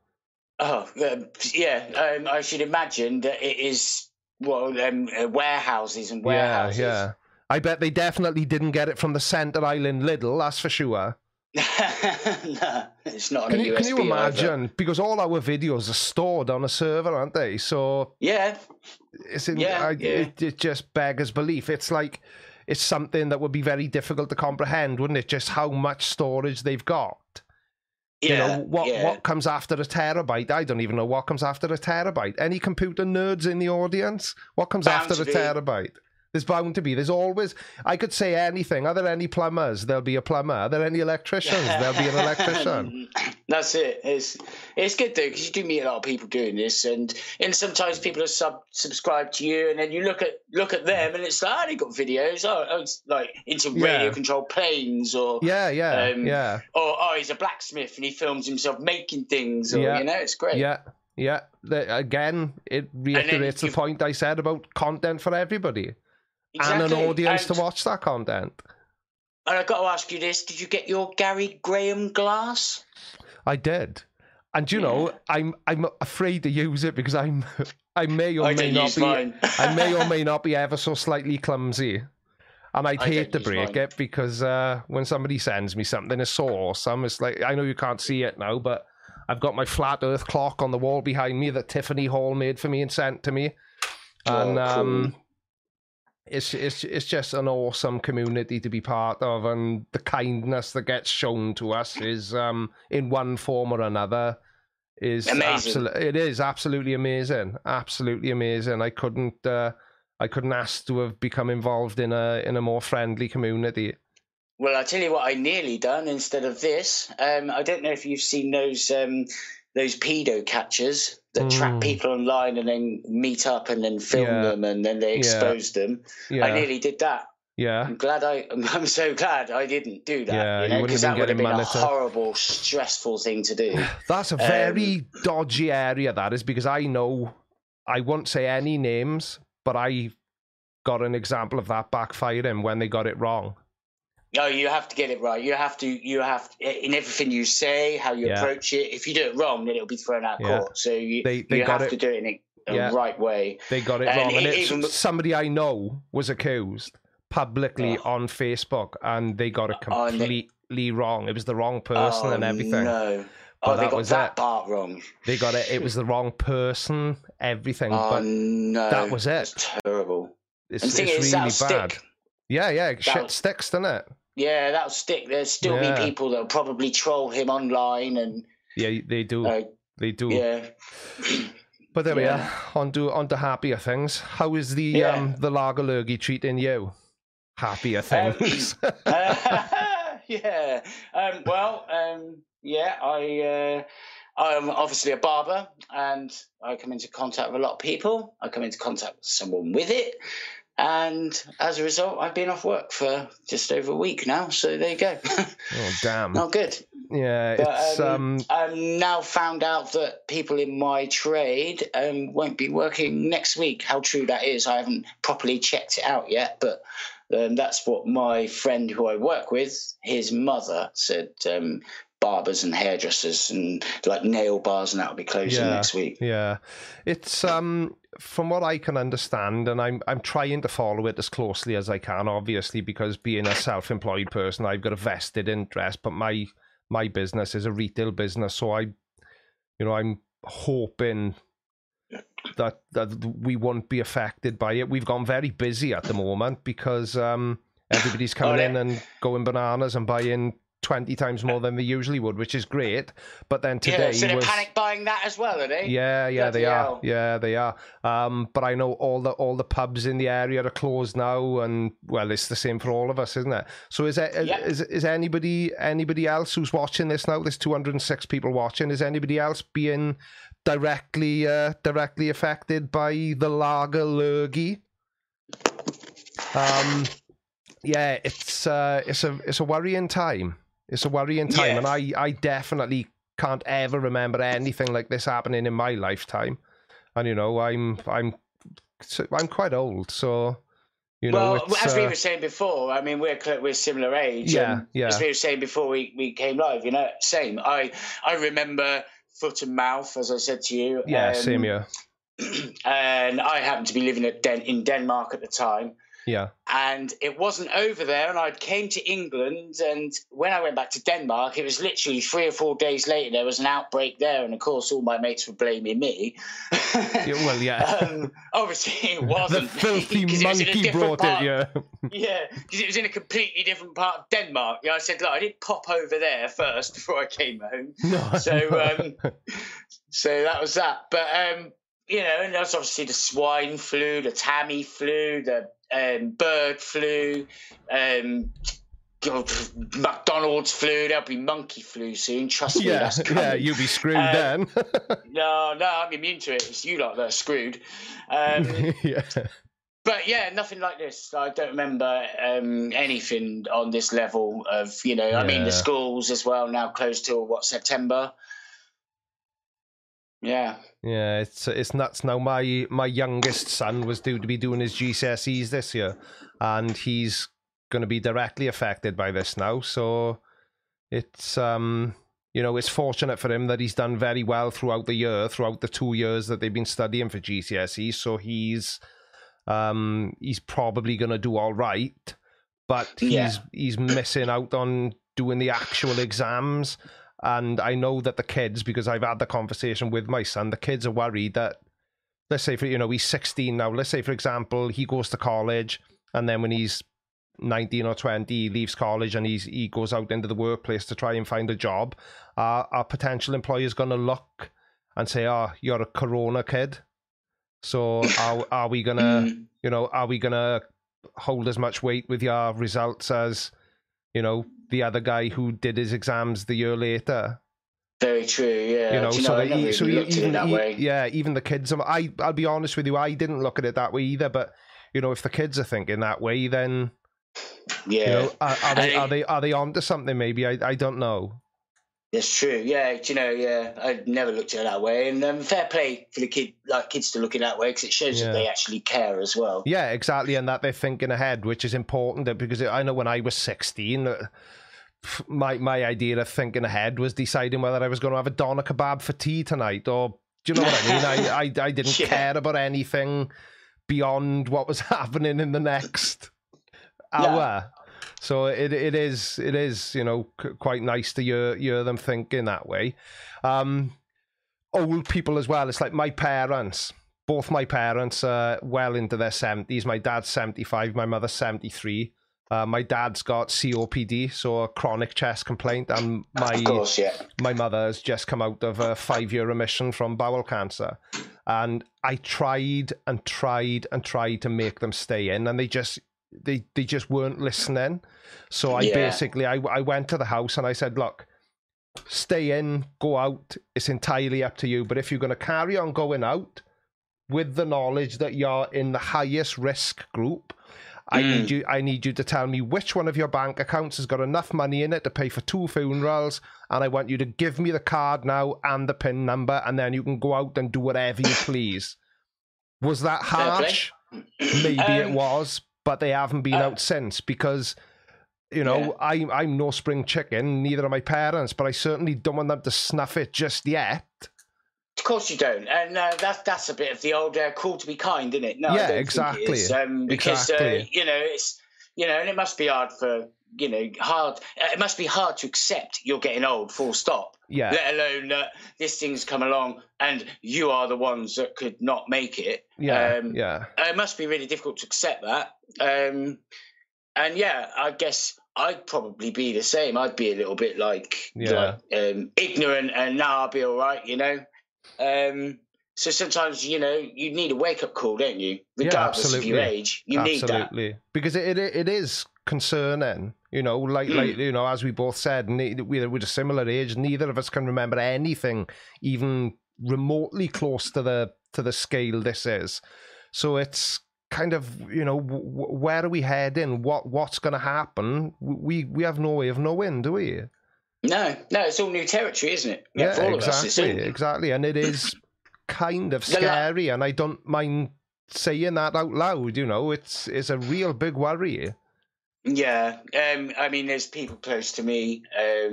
I should imagine that it is warehouses and warehouses. Yeah. I bet they definitely didn't get it from the Centre Island Lidl, that's for sure. No, it's not on a USB. Can you imagine? Either. Because all our videos are stored on a server, aren't they? So yeah, it just beggars belief. It's like it's something that would be very difficult to comprehend, wouldn't it? Just how much storage they've got. Yeah, What comes after a terabyte? I don't even know what comes after a terabyte. Any computer nerds in the audience? What comes after a terabyte? There's bound to be. There's always. I could say anything. Are there any plumbers? There'll be a plumber. Are there any electricians? There'll be an electrician. That's it. It's good though, because you do meet a lot of people doing this, and sometimes people are subscribed to you, and then you look at them, and it's like, they got videos. It's like into radio controlled planes, or or he's a blacksmith and he films himself making things, or it's great. Yeah. Again, it reiterates the point I said about content for everybody. Exactly. And an audience to watch that content. And I've got to ask you this: did you get your Gary Graham glass? I did, and you know, I'm afraid to use it because I may or may not be ever so slightly clumsy, and I'd hate to break it because when somebody sends me something, it's so awesome. It's like, I know you can't see it now, but I've got my flat Earth clock on the wall behind me that Tiffany Hall made for me and sent to me, and cool. It's just an awesome community to be part of, and the kindness that gets shown to us is in one form or another is amazing. It is absolutely amazing, absolutely amazing. I couldn't ask to have become involved in a more friendly community. Well, I'll tell you what I nearly done instead of this. I don't know if you've seen those pedo catchers that trap people online and then meet up and then film them and then they expose them. Yeah. I nearly did that. Yeah. I'm so glad I didn't do that. Yeah, because that would have been a horrible, stressful thing to do. That's a very dodgy area, that is, because I know, I won't say any names, but I got an example of that backfiring when they got it wrong. No, you have to get it right. You have to in everything you say, how you approach it. If you do it wrong, then it'll be thrown out of court. So you have to do it in the right way. They got it wrong. And somebody I know was accused publicly on Facebook, and they got it completely wrong. It was the wrong person and everything. No. They got that part wrong. They got it. It was the wrong person, everything. No. That was it. That's terrible. It's really bad. Stick. Yeah. Shit sticks, doesn't it? Yeah, that'll stick. There'll still be people that'll probably troll him online, and they do. They do. Yeah. But there we are. On to happier things. How is the lager lurgy treating you? Happier things. I'm obviously a barber, and I come into contact with a lot of people. I come into contact with someone with it. And as a result, I've been off work for just over a week now. So there you go. Oh, damn. Not good. Yeah. But I've now found out that people in my trade won't be working next week. How true that is, I haven't properly checked it out yet. But that's what my friend who I work with, his mother said. Barbers and hairdressers and like nail bars and that will be closing next week. Yeah. It's from what I can understand, and I'm trying to follow it as closely as I can, obviously, because being a self-employed person, I've got a vested interest, but my business is a retail business, so I'm hoping that we won't be affected by it. We've gone very busy at the moment because everybody's coming in and going bananas and buying 20 times more than they usually would, which is great. But then today, so they're panic buying that as well, are they? Yeah, they are. Yeah, they are. But I know all the pubs in the area are closed now, and well, it's the same for all of us, isn't it? So is anybody else who's watching this now? There's 206 people watching. Is anybody else being directly affected by the lager lurgy? Yeah, it's a worrying time. It's a worrying time, and I definitely can't ever remember anything like this happening in my lifetime. And I'm quite old, so Well, as we were saying before, I mean, we're similar age. Yeah. As we were saying before we came live, same. I remember foot and mouth, as I said to you. Yeah, same here. And I happened to be living in Denmark at the time. Yeah. And it wasn't over there, and I came to England, and when I went back to Denmark, it was literally 3 or 4 days later, there was an outbreak there, and of course all my mates were blaming me. Obviously it wasn't. The filthy monkey brought it, yeah. Yeah, because it was in a completely different part of Denmark. I said, look, I did pop over there first before I came home. So that was that. But, and there's obviously the swine flu, the Tamiflu, the bird flu, McDonald's flu. There'll be monkey flu soon. Trust me, that's coming. Yeah, you'll be screwed then. No, I'm immune to it. It's you lot that are screwed. Yeah. But yeah, nothing like this. I don't remember anything on this level of, I mean, the schools as well now closed till September. Yeah. Yeah, it's nuts now. My youngest son was due to be doing his GCSEs this year, and he's going to be directly affected by this now. So it's it's fortunate for him that he's done very well throughout the year, throughout the 2 years that they've been studying for GCSEs. So he's probably going to do all right, but he's missing out on doing the actual exams. And I know that the kids, because I've had the conversation with my son, the kids are worried that, let's say, he's 16 now. Let's say, for example, he goes to college, and then when he's 19 or 20, he leaves college and he goes out into the workplace to try and find a job. Our potential employer is going to look and say, "Oh, you're a Corona kid. So are we gonna, are we gonna hold as much weight with your results as, the other guy who did his exams the year later?" Very true, yeah. Even the kids. I'll be honest with you, I didn't look at it that way either. But if the kids are thinking that way, then are they onto something? Maybe I don't know. That's true. Yeah, I never looked at it that way, and fair play for the kids to look at it that way, because it shows that they actually care as well. Yeah, exactly, and that they're thinking ahead, which is important. Because I know when I was 16, my idea of thinking ahead was deciding whether I was going to have a doner kebab for tea tonight, or do you know what I mean? I didn't care about anything beyond what was happening in the next hour. So it is quite nice to hear them thinking that way. Old people as well. It's like my parents. Both my parents are well into their 70s. My dad's 75. My mother's 73. My dad's got COPD, so a chronic chest complaint, and my mother has just come out of a 5-year remission from bowel cancer. And I tried to make them stay in, and they just weren't listening. So I went to the house and I said, look, stay in, go out, it's entirely up to you. But if you're going to carry on going out with the knowledge that you're in the highest risk group, I need you to tell me which one of your bank accounts has got enough money in it to pay for 2 funerals, and I want you to give me the card now and the PIN number, and then you can go out and do whatever you please. Was that harsh? Maybe it was, but they haven't been out since, because I'm no spring chicken, neither are my parents, but I certainly don't want them to snuff it just yet. Of course you don't, and that's a bit of the old call to be kind, isn't it? No, yeah, I don't exactly. Think it is, because it's and it must be hard for It must be hard to accept you're getting old, full stop. Yeah. Let alone that this thing's come along and you are the ones that could not make it. Yeah. It must be really difficult to accept that. And I guess I'd probably be the same. I'd be a little bit ignorant, and now I'll be all right, So sometimes, you need a wake-up call, don't you? Regardless of your age, you need that. Absolutely. Because it is concerning, as we both said, we're a similar age. Neither of us can remember anything even remotely close to the scale this is. So it's kind of, where are we heading? What's going to happen? We have no way of knowing, do we? No, it's all new territory, isn't it? Yeah, for all exactly, of us, exactly. And it is kind of scary, and I don't mind saying that out loud. It's a real big worry. Yeah, I mean, there's people close to me,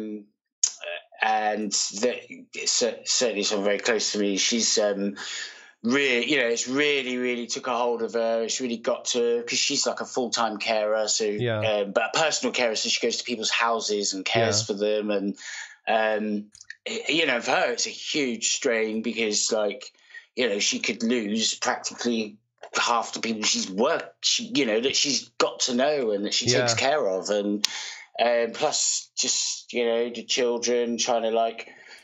and certainly someone very close to me. She's really, it's really took a hold of her. It's really got to, because she's like a full-time carer, so but a personal carer, so she goes to people's houses and cares for them, and for her it's a huge strain because she could lose practically half the people that she's got to know and that she takes care of, and plus just the children trying to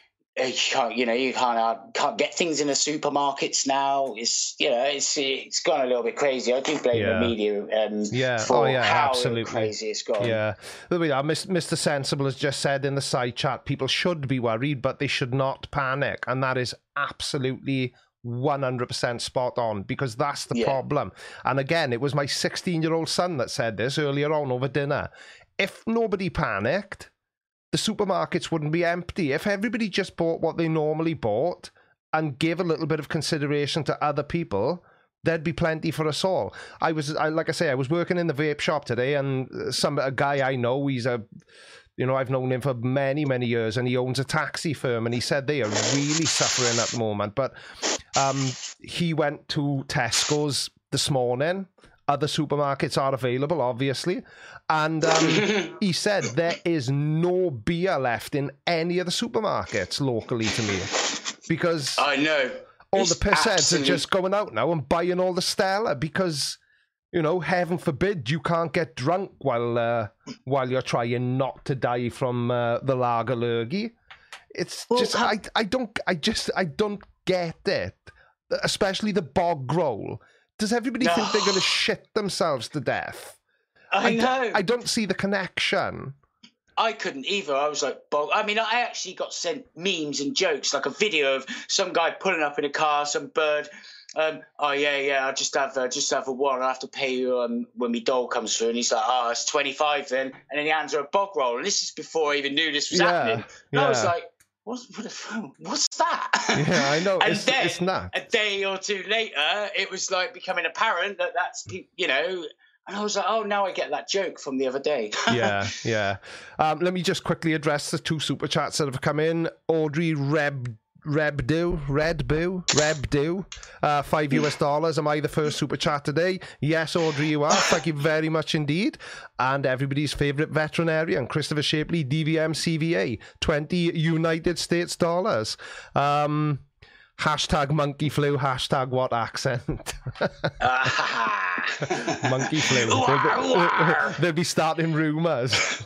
you can't get things in the supermarkets now. It's gone a little bit crazy. I do blame the media for how crazy it's gone. Yeah, Mr. Sensible has just said in the side chat, people should be worried, but they should not panic, and that is absolutely 100% spot on, because that's the problem. And again, it was my 16-year-old son that said this earlier on over dinner. If nobody panicked, the supermarkets wouldn't be empty. If everybody just bought what they normally bought and gave a little bit of consideration to other people, there'd be plenty for us all. I was working in the vape shop today, and a guy I know, I've known him for many, many years, and he owns a taxi firm, and he said they are really suffering at the moment. But he went to Tesco's this morning. Other supermarkets are available, obviously. And he said there is no beer left in any of the supermarkets locally to me. Because I know all the pissheads are just going out now and buying all the Stella because, heaven forbid you can't get drunk while you're trying not to die from the lager lurgy. It's I don't get it. Especially the bog roll. Does everybody think they're going to shit themselves to death? I know. I don't see the connection. I couldn't either. I was like, I actually got sent memes and jokes, like a video of some guy pulling up in a car, some bird. I'll just have a one. I'll have to pay you when my dole comes through. And he's like, it's 25 then. And then he hands her a bog roll. And this is before I even knew this was happening. And I was like, what's that? Yeah, I know. And then it's not. A day or two later, it was like becoming apparent that's and I was like, now I get that joke from the other day. Yeah. Let me just quickly address the two super chats that have come in. Audrey Rebdo, $5. Am I the first super chat today? Yes, Audrey, you are. Thank you very much indeed. And everybody's favourite veterinarian, Christopher Shapley, DVM CVA, 20 United States dollars. Hashtag monkey flu, hashtag what accent? Monkey flu. They'll be starting rumours.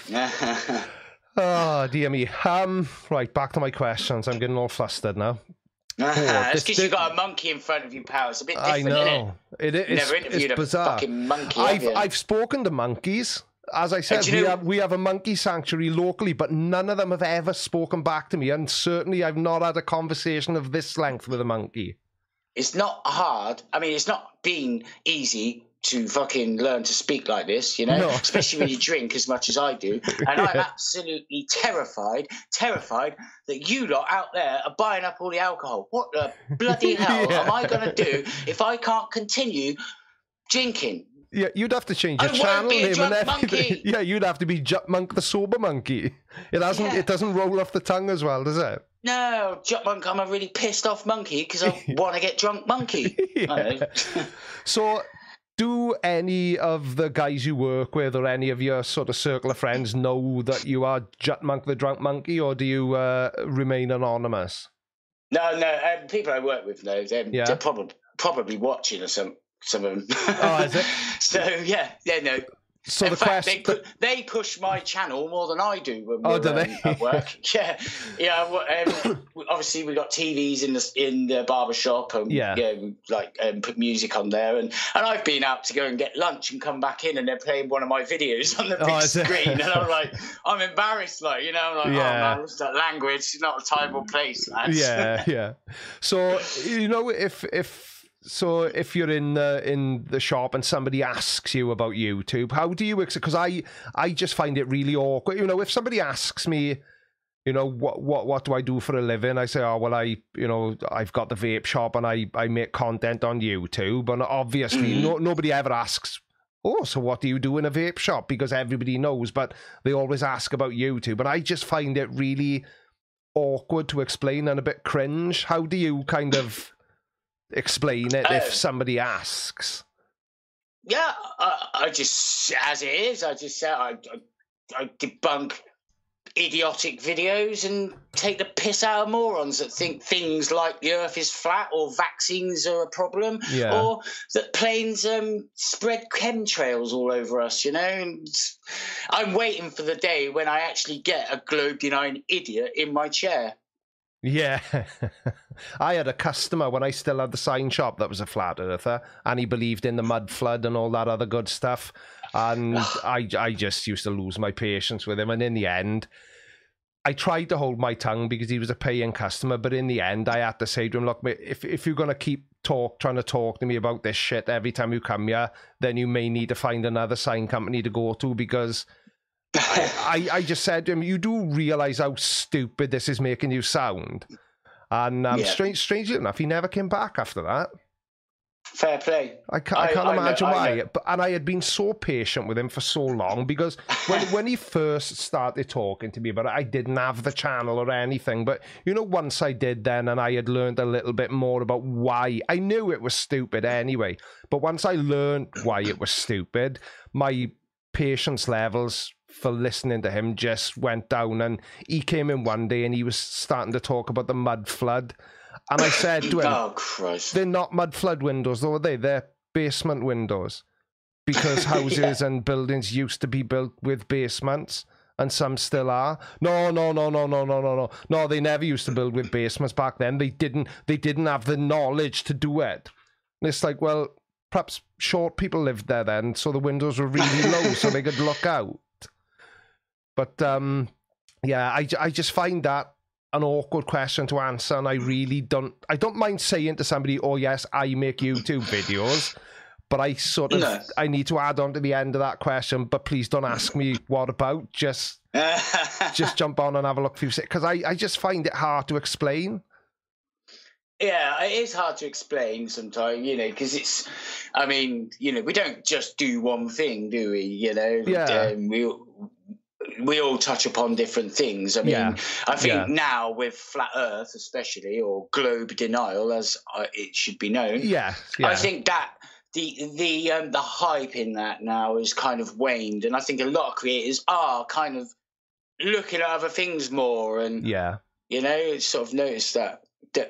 Oh, dear me. Right, back to my questions. I'm getting all flustered now. It's because you've got a monkey in front of you, pal. It's a bit different, I know. Isn't it? Never interviewed a fucking monkey, I've spoken to monkeys. As I said, we have a monkey sanctuary locally, but none of them have ever spoken back to me, and certainly I've not had a conversation of this length with a monkey. It's not hard. I mean, it's not been easy to fucking learn to speak like this, No. Especially when you drink as much as I do. And I'm absolutely terrified that you lot out there are buying up all the alcohol. What the bloody hell am I going to do if I can't continue drinking? Yeah, you'd have to change your channel name and everything. Monkey. Yeah, you'd have to be Jut Monk the Sober Monkey. It doesn't roll off the tongue as well, does it? No, Jut Monk, I'm a really pissed off monkey because I want to get drunk monkey. So, do any of the guys you work with or any of your sort of circle of friends know that you are Jut Monk the Drunk Monkey, or do you remain anonymous? No, people I work with know. They're probably watching or some of them. Oh, is it? So, no. So in fact, they push my channel more than I do when we're at work. Obviously, we got TVs in the barber shop, and put music on there, and I've been out to go and get lunch and come back in, and they're playing one of my videos on the big screen, and I'm like, I'm embarrassed, I'm like, oh man, what's that language? It's not a time or place, lads. Yeah. So if you're in the shop and somebody asks you about YouTube, how do you? Because I just find it really awkward. If somebody asks me, what do I do for a living? I say, I've got the vape shop and I make content on YouTube. And obviously, nobody ever asks, so what do you do in a vape shop? Because everybody knows, but they always ask about YouTube. And I just find it really awkward to explain and a bit cringe. How do you kind of explain it if somebody asks? Yeah, I just, as it is, I just say I debunk idiotic videos and take the piss out of morons that think things like the earth is flat or vaccines are a problem, or that planes spread chemtrails all over us, you know. And I'm waiting for the day when I actually get a globe-denying idiot in my chair. Yeah. I had a customer when I still had the sign shop that was a flat earther, and he believed in the mud flood and all that other good stuff. And I just used to lose my patience with him. And in the end, I tried to hold my tongue because he was a paying customer. But in the end, I had to say to him, look, mate, if you're going to keep trying to talk to me about this shit every time you come here, then you may need to find another sign company to go to, because I just said to him, you do realise how stupid this is making you sound. And strangely enough, he never came back after that. Fair play. I can't imagine why. And I had been so patient with him for so long, because when he first started talking to me about it, I didn't have the channel or anything. But, you know, once I did then, and I had learned a little bit more about why, I knew it was stupid anyway. But once I learned why it was stupid, my patience levels for listening to him just went down. And he came in one day and he was starting to talk about the mud flood. And I said to him, oh, Christ. They're not mud flood windows, though, are they? They're basement windows. Because houses and buildings used to be built with basements, and some still are. No, they never used to build with basements back then. They didn't have the knowledge to do it. And it's like, well, perhaps short people lived there then, so the windows were really low so they could look out. But, yeah, I just find that an awkward question to answer, and I don't mind saying to somebody, oh yes, I make YouTube videos, but I need to add on to the end of that question, but please don't ask me what about, just jump on and have a look for you, because I just find it hard to explain. Yeah, it is hard to explain sometimes, you know, because it's, I mean, you know, we don't just do one thing, do we, you know? Yeah. We all touch upon different things. I mean, I think now with flat Earth, especially, or globe denial, as it should be known. I think that the hype in that now is kind of waned, and I think a lot of creators are kind of looking at other things more, and you know, sort of notice that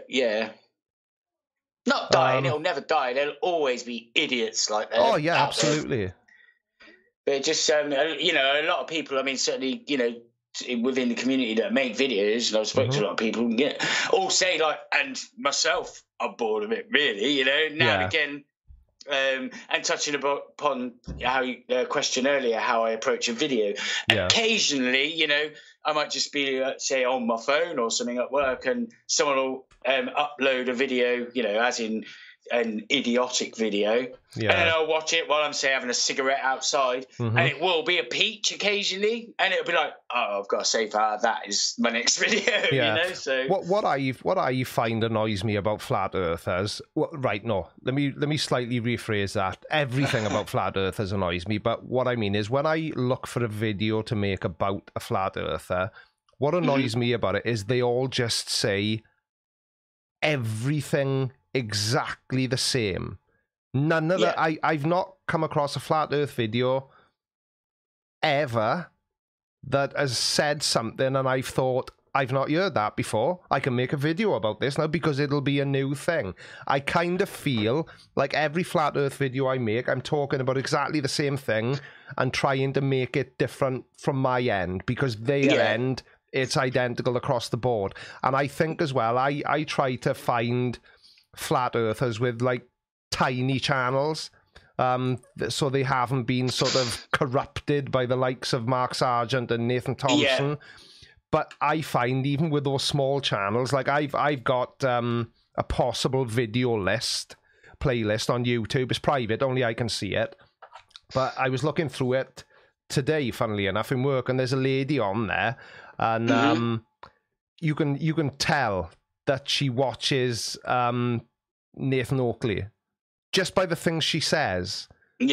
not dying. It'll never die. There'll always be idiots like that. Oh yeah, absolutely. There. But just, you know, a lot of people, I mean, certainly, you know, within the community that make videos, and I've spoken to a lot of people, all say, like, and myself, I'm bored of it, really, you know, now and again, and touching upon how you question earlier, how I approach a video. Occasionally, you know, I might just be, say, on my phone or something at work, and someone will upload a video, you know, as in an idiotic video, and then I'll watch it while I'm, say, having a cigarette outside, and it will be a peach occasionally, and it'll be like, oh, I've got to save that is my next video, you know. So what I find annoys me about flat earthers, let me slightly rephrase that. Everything about flat earthers annoys me, but what I mean is when I look for a video to make about a flat earther, what annoys me about it is they all just say everything exactly the same. None of that. I've not come across a flat earth video ever that has said something and I've thought, I've not heard that before. I can make a video about this now because it'll be a new thing. I kind of feel like every flat earth video I make, I'm talking about exactly the same thing and trying to make it different from my end, because their end, it's identical across the board. And I think as well, I try to find flat earthers with like tiny channels, so they haven't been sort of corrupted by the likes of Mark Sargent and Nathan Thompson. But I find even with those small channels, like I've got a possible video playlist on YouTube. It's private, only I can see it, but I was looking through it today, funnily enough, in work, and there's a lady on there, and you can tell that she watches Nathan Oakley just by the things she says.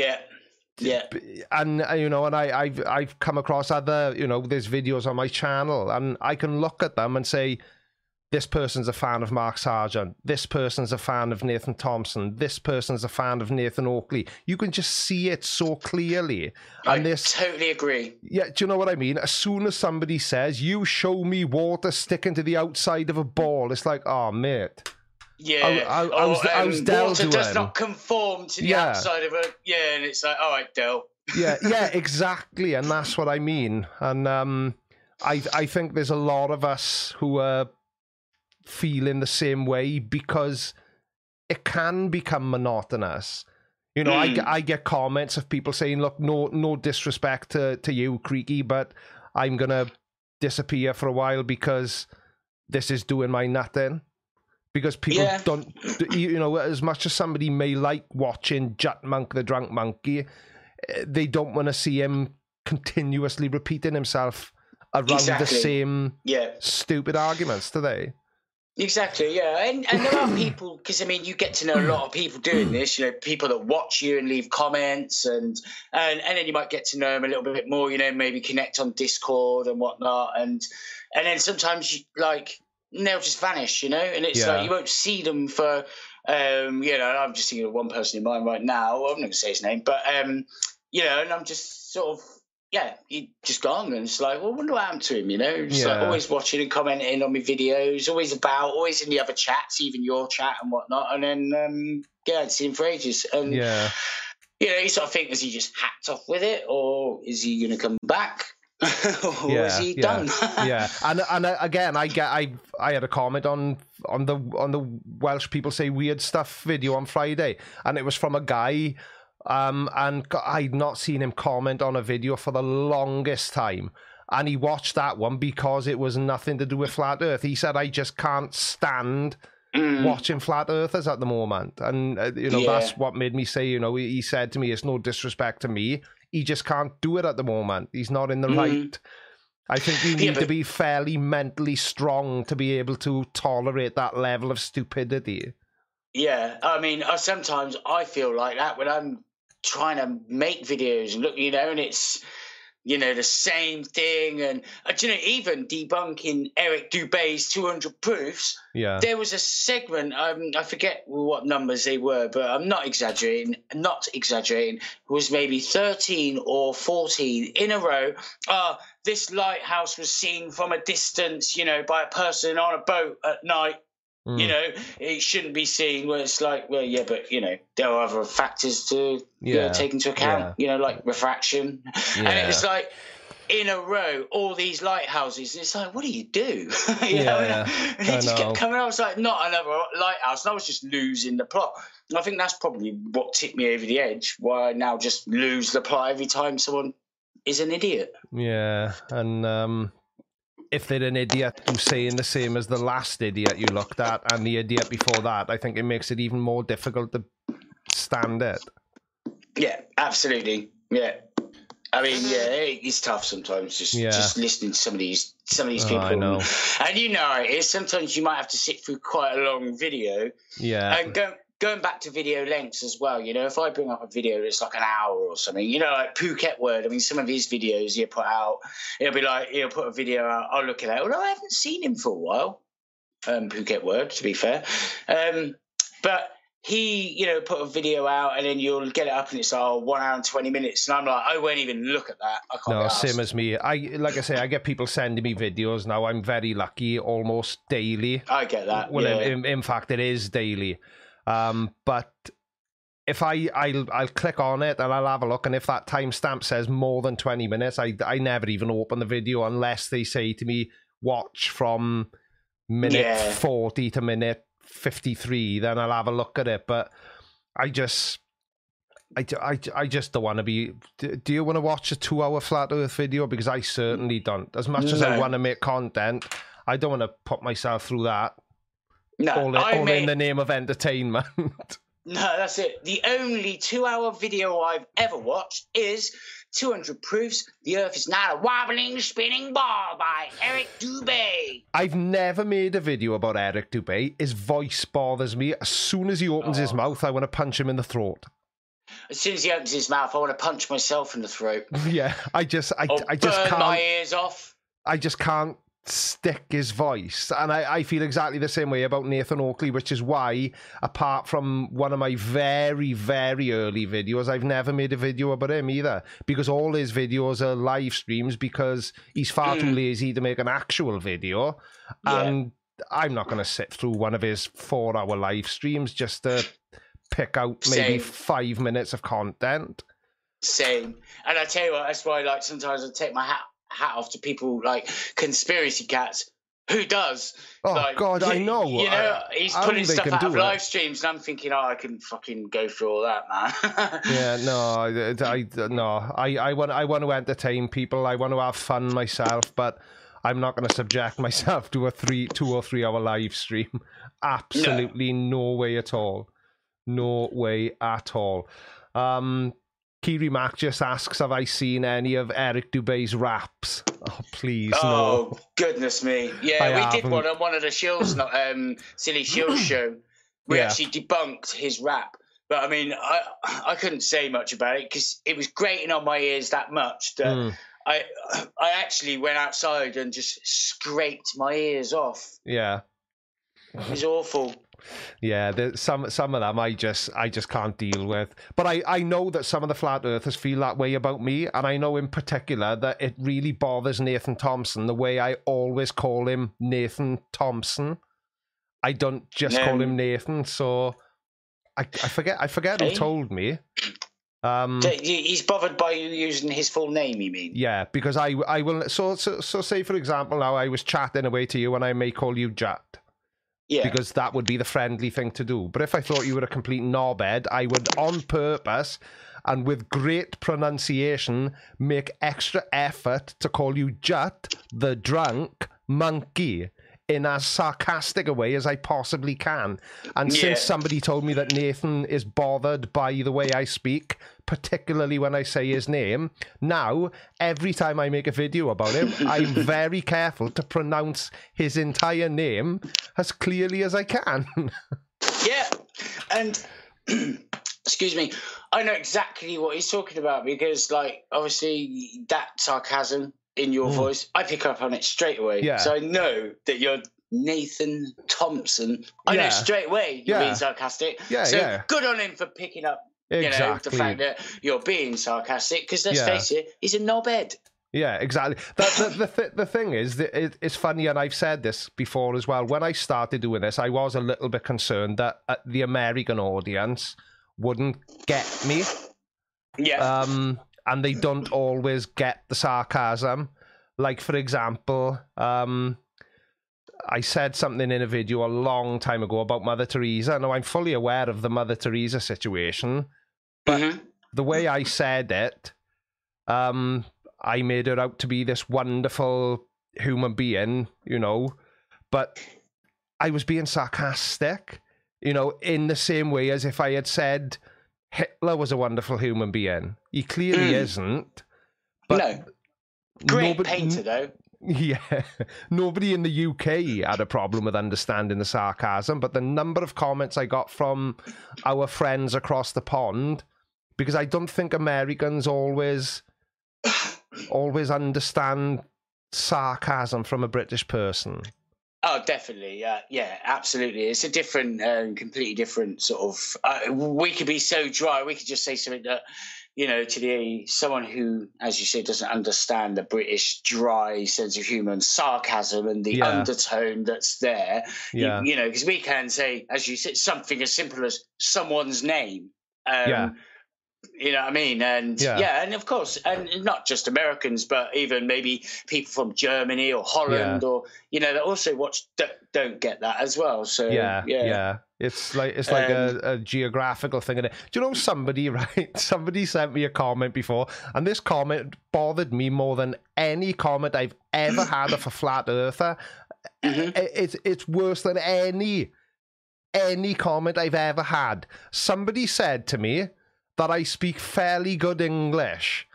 And you know, and I've come across other, you know, there's videos on my channel, and I can look at them and say, this person's a fan of Mark Sargent, this person's a fan of Nathan Thompson, this person's a fan of Nathan Oakley. You can just see it so clearly. And I totally agree. Yeah, do you know what I mean? As soon as somebody says, you show me water sticking to the outside of a ball, it's like, oh, mate. Yeah. I was Del water to does him. not conform to the outside of a... Yeah, and it's like, all right, Del. Yeah, exactly. And that's what I mean. And I think there's a lot of us who are feeling the same way because it can become monotonous. You know, I get comments of people saying, look, no disrespect to you, Creaky, but I'm going to disappear for a while because this is doing my nutting. Because people don't, you know, as much as somebody may like watching Jut Monk the Drunk Monkey, they don't want to see him continuously repeating himself around the same stupid arguments, do they? Exactly, yeah. And there are people, because, I mean, you get to know a lot of people doing this, you know, people that watch you and leave comments, and then you might get to know them a little bit more, you know, maybe connect on Discord and whatnot. And then sometimes, they'll just vanish, you know, and it's like you won't see them for, you know, I'm just thinking of one person in mind right now. I'm not going to say his name, but, you know, and I'm just sort of, he just gone, and it's like, well, I wonder what happened to him, you know? Just like always watching and commenting on my videos, always in the other chats, even your chat and whatnot, and then, I hadn't seen him for ages. And, you know, you sort of think, is he just hacked off with it, or is he going to come back? Or is he done? And again, I had a comment on the Welsh People Say Weird Stuff video on Friday, and it was from a guy, and I'd not seen him comment on a video for the longest time, and he watched that one because it was nothing to do with Flat Earth. He said, I just can't stand watching Flat Earthers at the moment, and you know, that's what made me say, you know, he said to me, it's no disrespect to me, he just can't do it at the moment. He's not in the right. I think you need to be fairly mentally strong to be able to tolerate that level of stupidity. Yeah, I mean, sometimes I feel like that when I'm trying to make videos and look, you know, and it's, you know, the same thing. And, you know, even debunking Eric Dubé's 200 proofs, there was a segment, I forget what numbers they were, but I'm not exaggerating, it was maybe 13 or 14 in a row. This lighthouse was seen from a distance, you know, by a person on a boat at night. You know, it shouldn't be seen, where it's like, well, yeah, but, you know, there are other factors to take into account, you know, like refraction. And it's like, in a row, all these lighthouses. And it's like, what do? You know? And it just kept coming out. I was like, not another lighthouse. And I was just losing the plot. And I think that's probably what tipped me over the edge, why I now just lose the plot every time someone is an idiot. Yeah, and... if they're an idiot who's saying the same as the last idiot you looked at and the idiot before that, I think it makes it even more difficult to stand it. Yeah, absolutely. Yeah. I mean, it's tough sometimes just listening to some of these people. I know. And you know it is. Sometimes you might have to sit through quite a long video. Yeah. And going back to video lengths as well, you know, if I bring up a video that's like an hour or something, you know, like Phuket Word, I mean, some of his videos he'll put out, it'll be like, he'll put a video out, I'll look at it. Although I haven't seen him for a while, Phuket Word, to be fair. But he, you know, put a video out and then you'll get it up and it's 1 hour and 20 minutes. And I'm like, I won't even look at that. I can't. No, same as me. Like I say, I get people sending me videos now. I'm very lucky, almost daily. I get that. Well, in fact, it is daily. But if I'll click on it and I'll have a look, and if that timestamp says more than 20 minutes, I never even open the video unless they say to me, watch from minute 40 to minute 53, then I'll have a look at it. But I just don't want to be... Do you want to watch a 2-hour Flat Earth video? Because I certainly don't. As much as I want to make content, I don't want to put myself through that. No, all in the name of entertainment. No, that's it. The only 2-hour video I've ever watched is 200 Proofs The Earth is Not a Wobbling, Spinning Ball by Eric Dubé. I've never made a video about Eric Dubé. His voice bothers me. As soon as he opens his mouth, I want to punch him in the throat. As soon as he opens his mouth, I want to punch myself in the throat. Yeah, I just burn can't. My ears off. I just can't stick his voice. And I feel exactly the same way about Nathan Oakley, which is why, apart from one of my very, very early videos, I've never made a video about him either, because all his videos are live streams because he's far too lazy to make an actual video. Yeah. And I'm not going to sit through one of his 4-hour live streams just to pick out maybe Same. 5 minutes of content. Same. And I tell you what, that's why, like, sometimes I take my hat off to people like Conspiracy Cats. Who does? Oh, like, God, I know. You know, he's putting they stuff can out of do it. live streams, and I'm thinking, oh, I can fucking go through all that, man. Yeah, no, I want to entertain people. I want to have fun myself, but I'm not going to subject myself to a 2 or 3 hour live stream. Absolutely no way at all. No way at all. Kiri Mac just asks, have I seen any of Eric Dubé's raps? Oh, please, no. Oh, goodness me. Yeah, we did one on one of the Shields, Silly Shields show. We actually debunked his rap. But, I mean, I couldn't say much about it because it was grating on my ears that much that I actually went outside and just scraped my ears off. Yeah. It was awful. Yeah, some of them I just can't deal with. But I know that some of the flat earthers feel that way about me, and I know in particular that it really bothers Nathan Thompson the way I always call him Nathan Thompson. I don't just call him Nathan, so I forget who told me. He's bothered by you using his full name, you mean? Yeah, because I will. So say for example, now I was chatting away to you, and I may call you Jat. Yeah. Because that would be the friendly thing to do. But if I thought you were a complete knobhead, I would, on purpose and with great pronunciation, make extra effort to call you Jut, the drunk monkey, in as sarcastic a way as I possibly can. And since somebody told me that Nathan is bothered by the way I speak, particularly when I say his name, now, every time I make a video about him, I'm very careful to pronounce his entire name as clearly as I can. Yeah, and, excuse me, I know exactly what he's talking about because, like, obviously that sarcasm in your voice, I pick up on it straight away. Yeah. So I know that you're Nathan Thompson. I know straight away you're being sarcastic. Yeah, so good on him for picking up the fact that you're being sarcastic because let's face it, he's a knobhead. Yeah, exactly. The thing is, that it's funny, and I've said this before as well. When I started doing this, I was a little bit concerned that the American audience wouldn't get me. Yeah. And they don't always get the sarcasm. Like, for example, I said something in a video a long time ago about Mother Teresa. Now, I'm fully aware of the Mother Teresa situation, but the way I said it, I made her out to be this wonderful human being, you know, but I was being sarcastic, you know, in the same way as if I had said Hitler was a wonderful human being. He clearly isn't. But no. Great painter, though. Yeah. Nobody in the UK had a problem with understanding the sarcasm, but the number of comments I got from our friends across the pond, because I don't think Americans always understand sarcasm from a British person. Oh, definitely. Yeah, absolutely. It's a different, completely different sort of... we could be so dry. We could just say something that, you know, to someone who, as you say, doesn't understand the British dry sense of humour and sarcasm and the undertone that's there. Yeah. You know, because we can say, as you said, something as simple as someone's name. You know what I mean? And and of course, and not just Americans, but even maybe people from Germany or Holland or, you know, that also don't get that as well. So yeah. It's like a geographical thing. Do you know somebody sent me a comment before, and this comment bothered me more than any comment I've ever had of a flat earther. It's worse than any comment I've ever had. Somebody said to me that I speak fairly good English.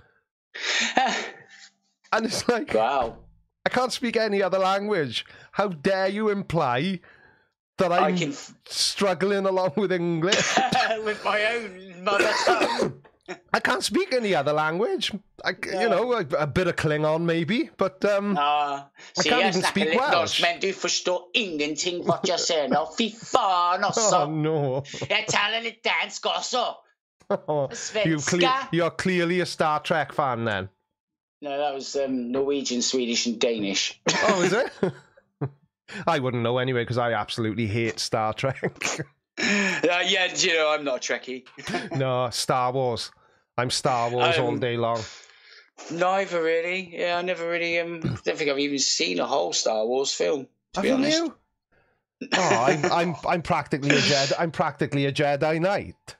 And it's like, wow, I can't speak any other language. How dare you imply that I'm struggling along with English? With my own mother tongue. I can't speak any other language. You know, a bit of Klingon maybe, but I can't even speak Welsh. Men, du förstår ingenting vad jag säger. No, fy fan också. Oh no. Jag talar lite dansk också. You're clearly a Star Trek fan then. No, that was Norwegian, Swedish and Danish. Oh, is it? I wouldn't know anyway because I absolutely hate Star Trek. Yeah, you know, I'm not a Trekkie. No, Star Wars. I'm Star Wars all day long. Neither really. Yeah, I never really. Don't think I've even seen a whole Star Wars film. To be honest. You? Oh, I'm practically a Jedi. I'm practically a Jedi Knight.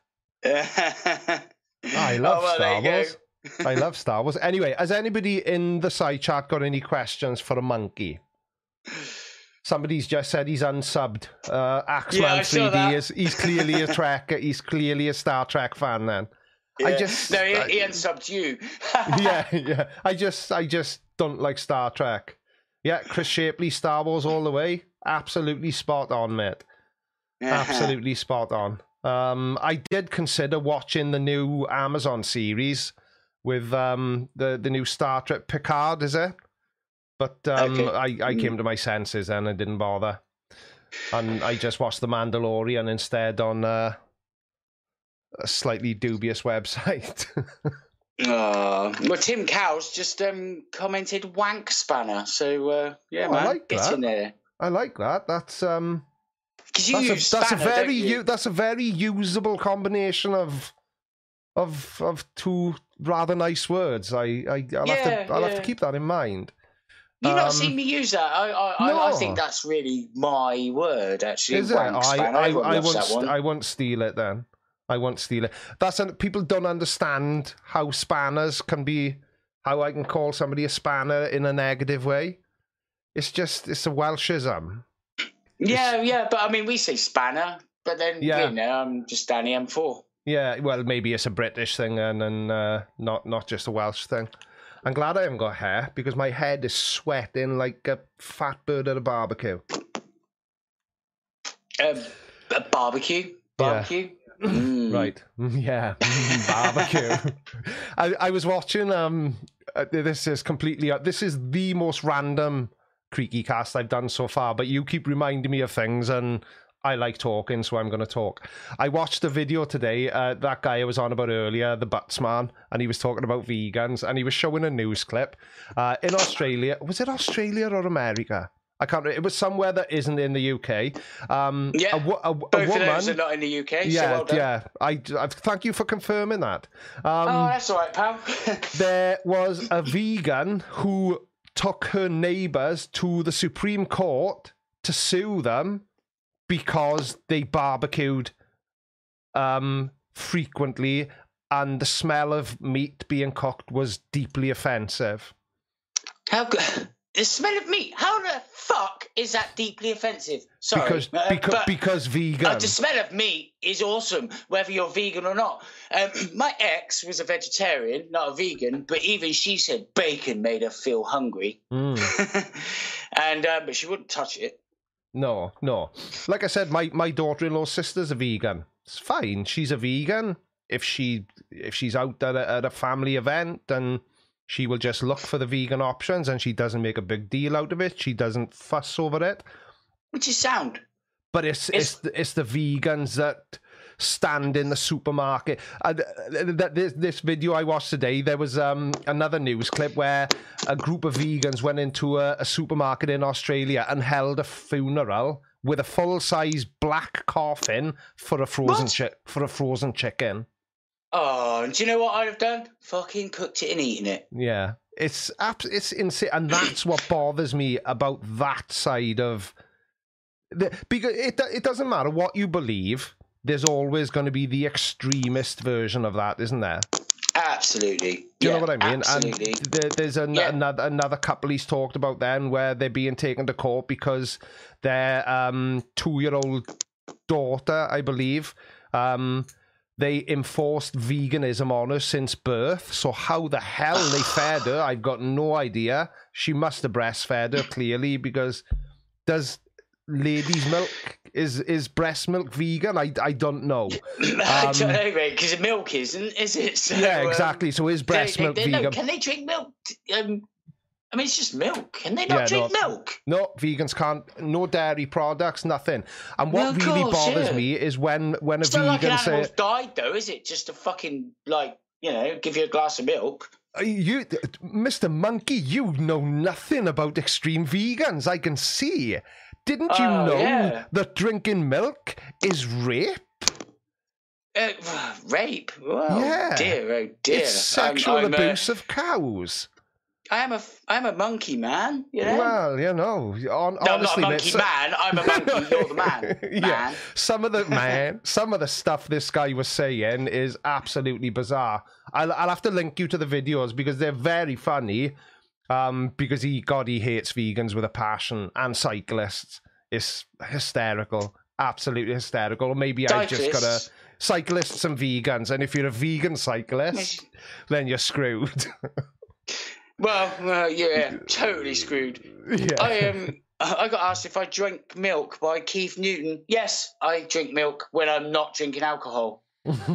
I love Star Wars. I love Star Wars. Anyway, has anybody in the side chat got any questions for a monkey? Somebody's just said he's unsubbed. Axeman 3D he's clearly a Trek. He's clearly a Star Trek fan. Then he unsubbed you. yeah. I just don't like Star Trek. Yeah, Chris Shapley, Star Wars all the way. Absolutely spot on, mate. Absolutely spot on. I did consider watching the new Amazon series with the new Star Trek Picard, is it? But I came to my senses and I didn't bother. And I just watched The Mandalorian instead on a slightly dubious website. Well, Tim Cowles just commented wank spanner. So, yeah, man, like get in there. I like that. That's that's a very usable combination of two rather nice words. I'll have to keep that in mind. You've not seen me use that. I think that's really my word, actually. Is it? I won't steal it then. I won't steal it. People don't understand how spanners can be, how I can call somebody a spanner in a negative way. It's a Welshism. Yeah, but I mean, we say spanner, but then, you know, I'm just Danny M4. Yeah, well, maybe it's a British thing and not just a Welsh thing. I'm glad I haven't got hair because my head is sweating like a fat bird at a barbecue. A barbecue? Barbecue? Yeah. Right. Yeah. Barbecue. I was watching, this is the most random Creaky Cast I've done so far, but you keep reminding me of things and I like talking, so I'm going to talk. I watched a video today, that guy I was on about earlier, the Buttsman, and he was talking about vegans, and he was showing a news clip. In Australia, was it Australia or America? I can't remember. It was somewhere that isn't in the UK. Both of those are not in the UK, yeah, so well done. Yeah, I thank you for confirming that. That's all right, pal. There was a vegan who took her neighbours to the Supreme Court to sue them because they barbecued frequently and the smell of meat being cooked was deeply offensive. How good? The smell of meat? How the fuck is that deeply offensive? Sorry. Because vegan. The smell of meat is awesome, whether you're vegan or not. My ex was a vegetarian, not a vegan, but even she said bacon made her feel hungry. But she wouldn't touch it. No. Like I said, my daughter-in-law's sister's a vegan. It's fine. She's a vegan. If she's out at a family event and she will just look for the vegan options and she doesn't make a big deal out of it. She doesn't fuss over it. Which is sound. But it's the vegans that stand in the supermarket. This video I watched today, there was another news clip where a group of vegans went into a supermarket in Australia and held a funeral with a full-size black coffin for a frozen chicken. Oh, do you know what I'd have done? Fucking cooked it and eaten it. Yeah, it's insane, and that's what bothers me about that side of because it doesn't matter what you believe. There's always going to be the extremist version of that, isn't there? Absolutely. Do you know what I mean? Absolutely. And there's another couple he's talked about then where they're being taken to court because their 2-year-old daughter, I believe, they enforced veganism on her since birth. So how the hell they fed her, I've got no idea. She must have breastfed her, clearly, because lady's milk is breast milk vegan? I don't know. I don't know, mate, because milk isn't, is it? So, yeah, exactly. So is breast milk vegan? No, can they drink milk? I mean, it's just milk. Can they not drink milk? No, vegans can't. No dairy products, nothing. And what really bothers me is when a it's vegan not like an says, animal's died, though, is it? Just to fucking, like, you know, give you a glass of milk. You, Mr. Monkey, you know nothing about extreme vegans. I can see. Didn't you know that drinking milk is rape? Rape? Well, yeah. Dear, oh dear. It's sexual abuse of cows. I'm a monkey man, you know? Well, you know, honestly, I'm not a monkey man. I'm a monkey. You're the man. Yeah, some of the stuff this guy was saying is absolutely bizarre. I'll have to link you to the videos because they're very funny. Because he hates vegans with a passion and cyclists. It's hysterical, absolutely hysterical. Or maybe I just got a cyclists and vegans, and if you're a vegan cyclist, then you're screwed. Well, yeah, totally screwed. Yeah. I got asked if I drink milk by Keith Newton. Yes, I drink milk when I'm not drinking alcohol.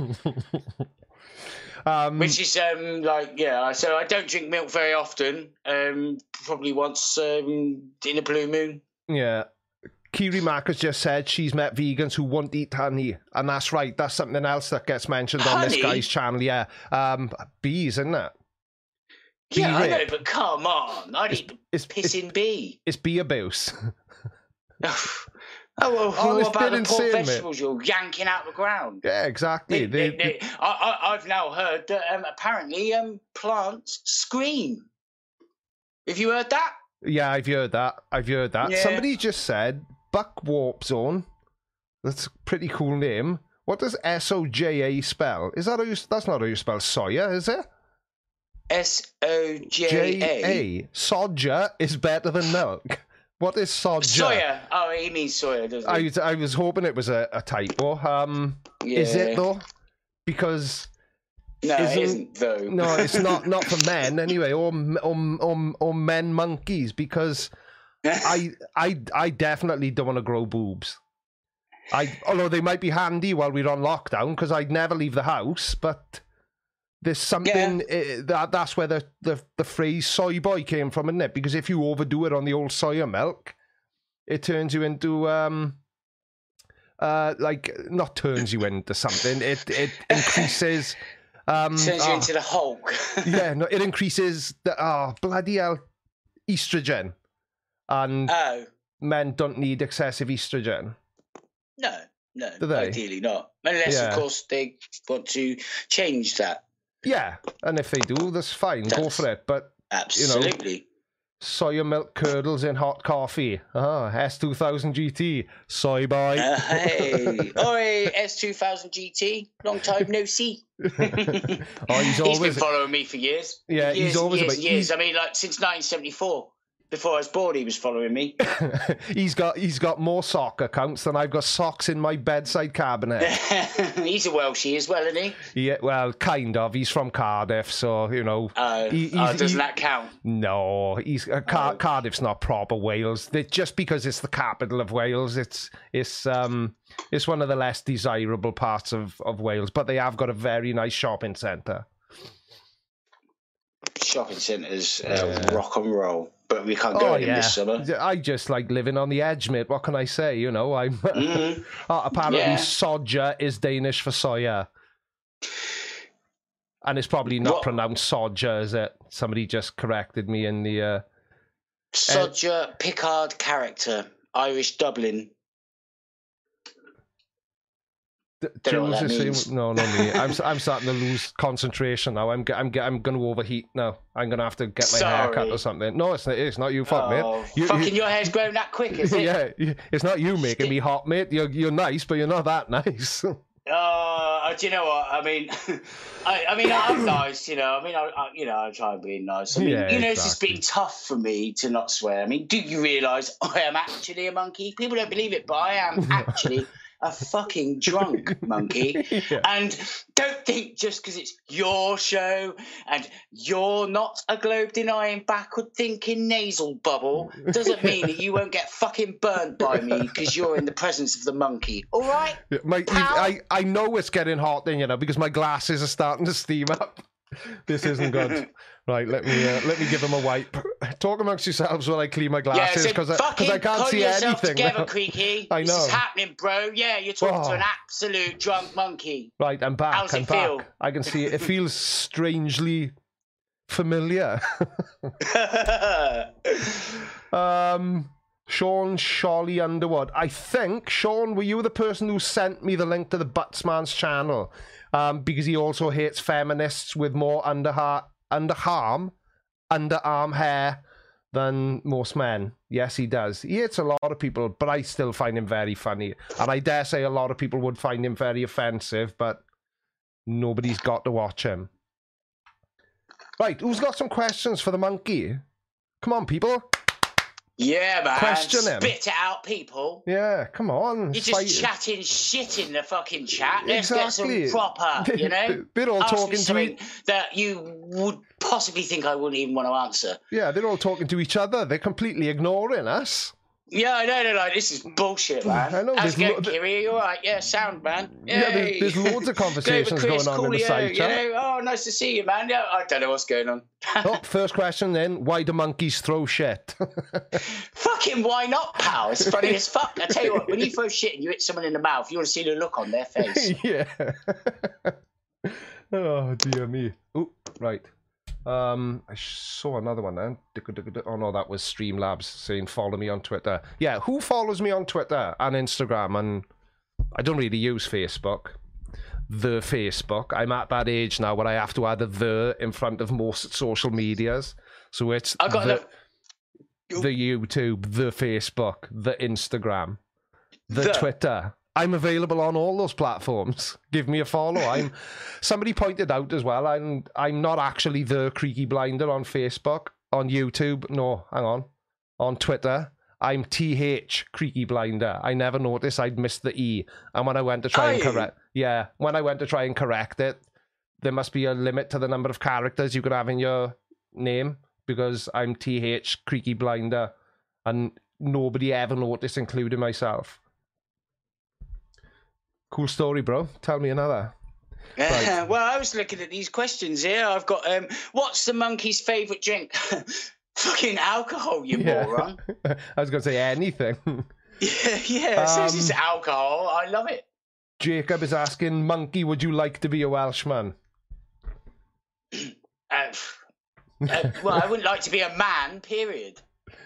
Which is so I don't drink milk very often. Probably once in a blue moon. Yeah. Kiri Mack has just said she's met vegans who won't eat honey, and that's right. That's something else that gets mentioned on this guy's channel. Yeah, bees, isn't it? Yeah, I know, but come on, I'd eat the pissing bee. It's bee abuse. Oh, well, what about the poor vegetables you're yanking out the ground? Yeah, exactly. I've now heard that apparently plants scream. Have you heard that? Yeah, I've heard that. Yeah. Somebody just said Buck Warp Zone. That's a pretty cool name. What does SOJA spell? Is that that's not how you spell soya, is it? SOJA. Soja is better than milk. What is soja? Soya. Oh, he means soya, doesn't he? I was hoping it was a typo. Is it though? Because no, it isn't though. No, it's not for men anyway, or men monkeys. Because I definitely don't want to grow boobs. Although they might be handy while we're on lockdown, because I'd never leave the house, but. There's something that's where the phrase soy boy came from, isn't it? Because if you overdo it on the old soya milk, it turns you into not turns you into something. It increases turns you into the Hulk. Yeah, no, it increases the bloody hell estrogen, and men don't need excessive estrogen. No, ideally not, unless of course they want to change that. Yeah, and if they do, that's fine. Go for it. But absolutely, you know, soya milk curdles in hot coffee. S2000 GT, soy boy. Hey, oi, S2000 GT. Long time no see. He's been following me for years. Yeah, he's always years. I mean, like since 1974. Before I was born, he was following me. He's got more sock accounts than I've got socks in my bedside cabinet. He's a Welshie as well, isn't he? Yeah, well, kind of. He's from Cardiff, so, you know. Doesn't that count? No, Cardiff's not proper Wales. Just because it's the capital of Wales, it's one of the less desirable parts of Wales, but they have got a very nice shopping centre. Shopping centres, rock and roll. But we can't go in this summer. I just like living on the edge, mate. What can I say? You know, I'm. Apparently, soja is Danish for soya, and it's probably not pronounced soja, is it? Somebody just corrected me in the. Soja, Picard character, Irish Dublin. Jules is saying, no, not me. I'm starting to lose concentration now. I'm going to overheat now. I'm going to have to get my hair cut or something. No, it's not your fault, mate. Your hair's grown that quick, is it? Yeah, it's not you making me hot, mate. You're nice, but you're not that nice. Do you know what? I mean, I'm nice. You know, I try and be nice. I mean, it's just been tough for me to not swear. I mean, do you realise I am actually a monkey? People don't believe it, but I am actually a fucking drunk monkey. Yeah. And don't think just because it's your show and you're not a globe-denying, backward-thinking nasal bubble doesn't mean that you won't get fucking burnt by me because you're in the presence of the monkey. All right? I know it's getting hot then, you know, because my glasses are starting to steam up. This isn't good. Right, let me give them a wipe. Talk amongst yourselves while I clean my glasses because I can't see anything. Together, Creaky. I know. This is happening, bro. Yeah, you're talking to an absolute drunk monkey. Right, I'm back. How's it feel? I can see it. It feels strangely familiar. Sean Sholly Underwood. I think, Sean, were you the person who sent me the link to the Buttsman's channel? Because he also hates feminists with more underarm hair than most men. Yes, he does. He hates a lot of people, but I still find him very funny. And I dare say a lot of people would find him very offensive, but nobody's got to watch him. Right, who's got some questions for the monkey? Come on, people. Yeah, man. Question him. Spit it out, people. Yeah, come on. You're just chatting shit in the fucking chat. Let's get some proper, you know? They're all talking to me. That you would possibly think I wouldn't even want to answer. Yeah, they're all talking to each other. They're completely ignoring us. Yeah, I know. They're like, this is bullshit, man. I know. How's it going, Kiri? You all right? Yeah, sound, man. Yeah, there's loads of conversations going on in the side chat. You know? Oh, nice to see you, man. Yeah, I don't know what's going on. First question then. Why do monkeys throw shit? Fucking why not, pal? It's funny as fuck. I tell you what, when you throw shit and you hit someone in the mouth, you want to see the look on their face. Yeah. Oh, dear me. Oh, right. I saw another one then. Oh no, that was Streamlabs saying follow me on Twitter. Yeah, who follows me on Twitter and Instagram? And I don't really use Facebook. The Facebook. I'm at that age now where I have to add a the in front of most social medias. So it's the YouTube, the Facebook, the Instagram, the Twitter. I'm available on all those platforms. Give me a follow. Somebody pointed out as well, I'm not actually the Creaky Blinder on Facebook, on YouTube. No, hang on. On Twitter, I'm TH Creaky Blinder. I never noticed I'd missed the E. And when I went to try when I went to try and correct it, there must be a limit to the number of characters you could have in your name because I'm TH Creaky Blinder. And nobody ever noticed, including myself. Cool story, bro. Tell me another. Right. Well, I was looking at these questions here. I've got, what's the monkey's favourite drink? Fucking alcohol, you moron. I was going to say anything. Yeah. So it's just alcohol. I love it. Jacob is asking, monkey, would you like to be a Welshman? Well, I wouldn't like to be a man, period.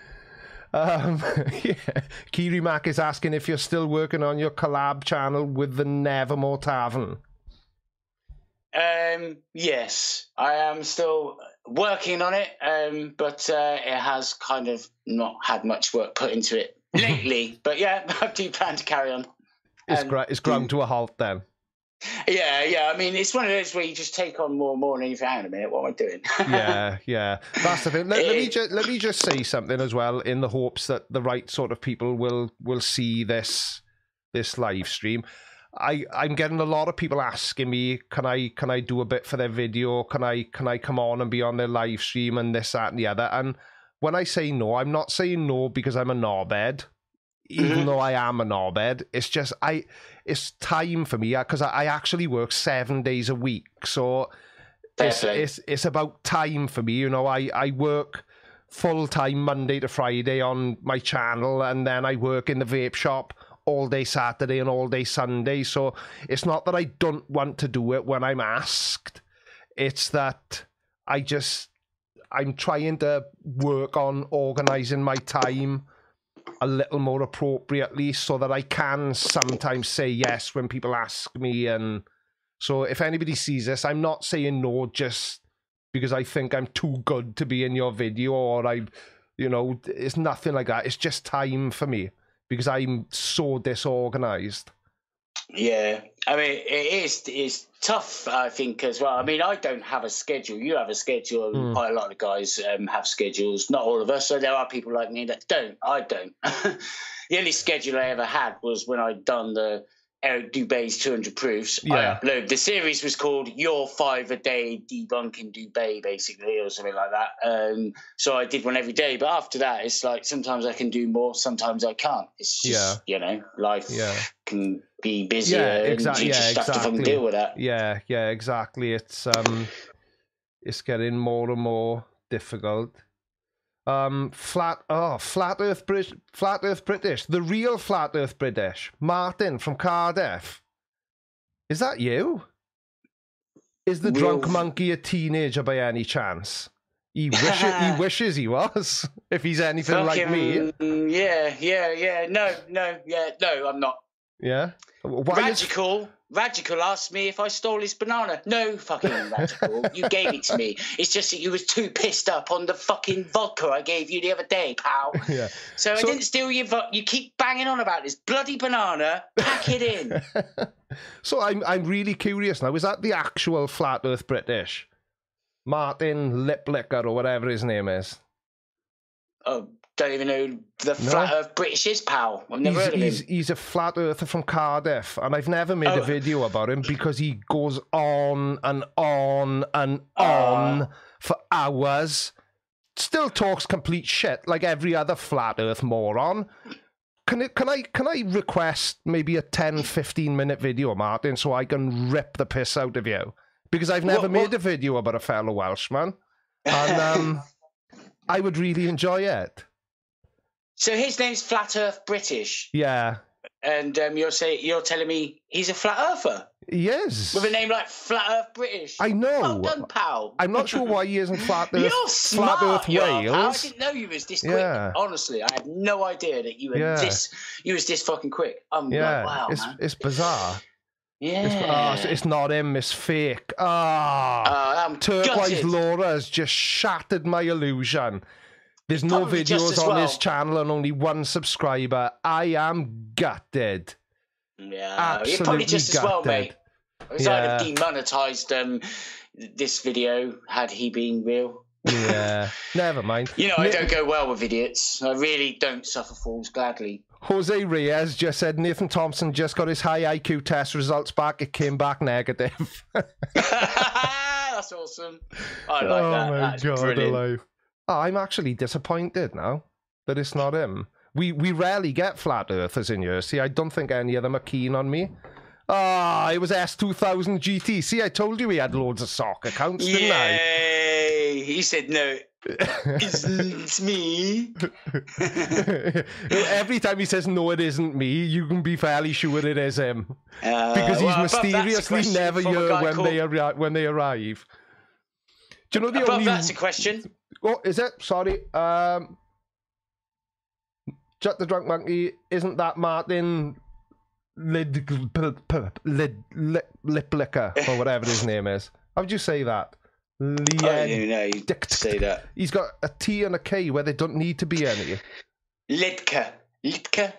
Yeah. Kiri Mac is asking if you're still working on your collab channel with the Nevermore Tavern. Yes, I am still working on it, but it has kind of not had much work put into it lately. But yeah, I do plan to carry on. It's ground to a halt then. Yeah. I mean, it's one of those where you just take on more and more, and you think, hang on a minute, what am I doing? Yeah. That's the thing. Let me just say something as well, in the hopes that the right sort of people will see this live stream. I'm getting a lot of people asking me, can I do a bit for their video? Can I come on and be on their live stream and this, that, and the other? And when I say no, I'm not saying no because I'm a knobhead. Even though I am a knobhead, it's just it's time for me because I actually work 7 days a week, so it's about time for me. You know, I work full time Monday to Friday on my channel, and then I work in the vape shop all day Saturday and all day Sunday. So it's not that I don't want to do it when I'm asked; it's that I'm trying to work on organising my time a little more appropriately so that I can sometimes say yes when people ask me. And so if anybody sees this, I'm not saying no just because I think I'm too good to be in your video or it's nothing like that. It's just time for me because I'm so disorganized. Yeah, I mean, it's tough, I think, as well. I mean, I don't have a schedule. You have a schedule. Quite a lot of guys have schedules. Not all of us. So there are people like me that don't. I don't. The only schedule I ever had was when I'd done the Eric Dubé's 200 Proofs. Yeah. I upload. The series was called Your 5 a Day Debunking Dubé, basically, or something like that. So I did one every day. But after that, it's like sometimes I can do more, sometimes I can't. It's just, life can be busier. Yeah, exactly. And you just have to fucking deal with that. Yeah, exactly. It's getting more and more difficult. Flat Earth British, the real Flat Earth British, Martin from Cardiff. Is that you? Is the drunk monkey a teenager by any chance? He wishes he was. If he's anything like me. Yeah. No, I'm not. Yeah. Radical asked me if I stole his banana. No, fucking Radical. You gave it to me. It's just that you was too pissed up on the fucking vodka I gave you the other day, pal. Yeah. So I didn't steal your vodka. You keep banging on about this bloody banana. Pack it in. So I'm really curious now. Is that the actual Flat Earth British? Martin Liplicker or whatever his name is? Oh, don't even know who the Flat Earth British is, pal. I've never heard of him. He's a flat earther from Cardiff, and I've never made a video about him because he goes on and on and on for hours. Still talks complete shit like every other flat earth moron. Can I request maybe a 10-15 minute video, Martin, so I can rip the piss out of you? Because I've never made a video about a fellow Welshman, and I would really enjoy it. So his name's Flat Earth British. Yeah. And you're telling me he's a flat earther? He is. With a name like Flat Earth British. I know. Well done, pal. I'm not sure why he isn't Flat Earth. You're smart, Flat Earth Wales. Pal. I didn't know you was this quick. Honestly, I had no idea that you were this fucking quick. Like, wow, man. It's bizarre. Yeah. It's not him, it's fake. Turquoise gutted. Laura has just shattered my illusion. There's no videos on his channel and only one subscriber. I am gutted. Yeah, absolutely probably just gutted. As well, mate. I'd have demonetised this video had he been real. Yeah, never mind. I don't go well with idiots. I really don't suffer fools gladly. Jose Reyes just said Nathan Thompson just got his high IQ test results back. It came back negative. That's awesome. I like that. That's brilliant. Alive. I'm actually disappointed now that it's not him. We rarely get flat earthers in here. See, I don't think any of them are keen on me. It was S2000 GT. See, I told you he had loads of sock accounts, didn't I? Yay! He said no. It's me. Every time he says no, it isn't me, you can be fairly sure it is him. Because he's mysteriously never here when they arrive. Do you know the only... That's a question. Oh, is it? Sorry. Jut the Drunk Monkey, isn't that Martin Liplicker or whatever his name is? How would you say that? You say that. He's got a T and a K where they don't need to be any. Lidka. I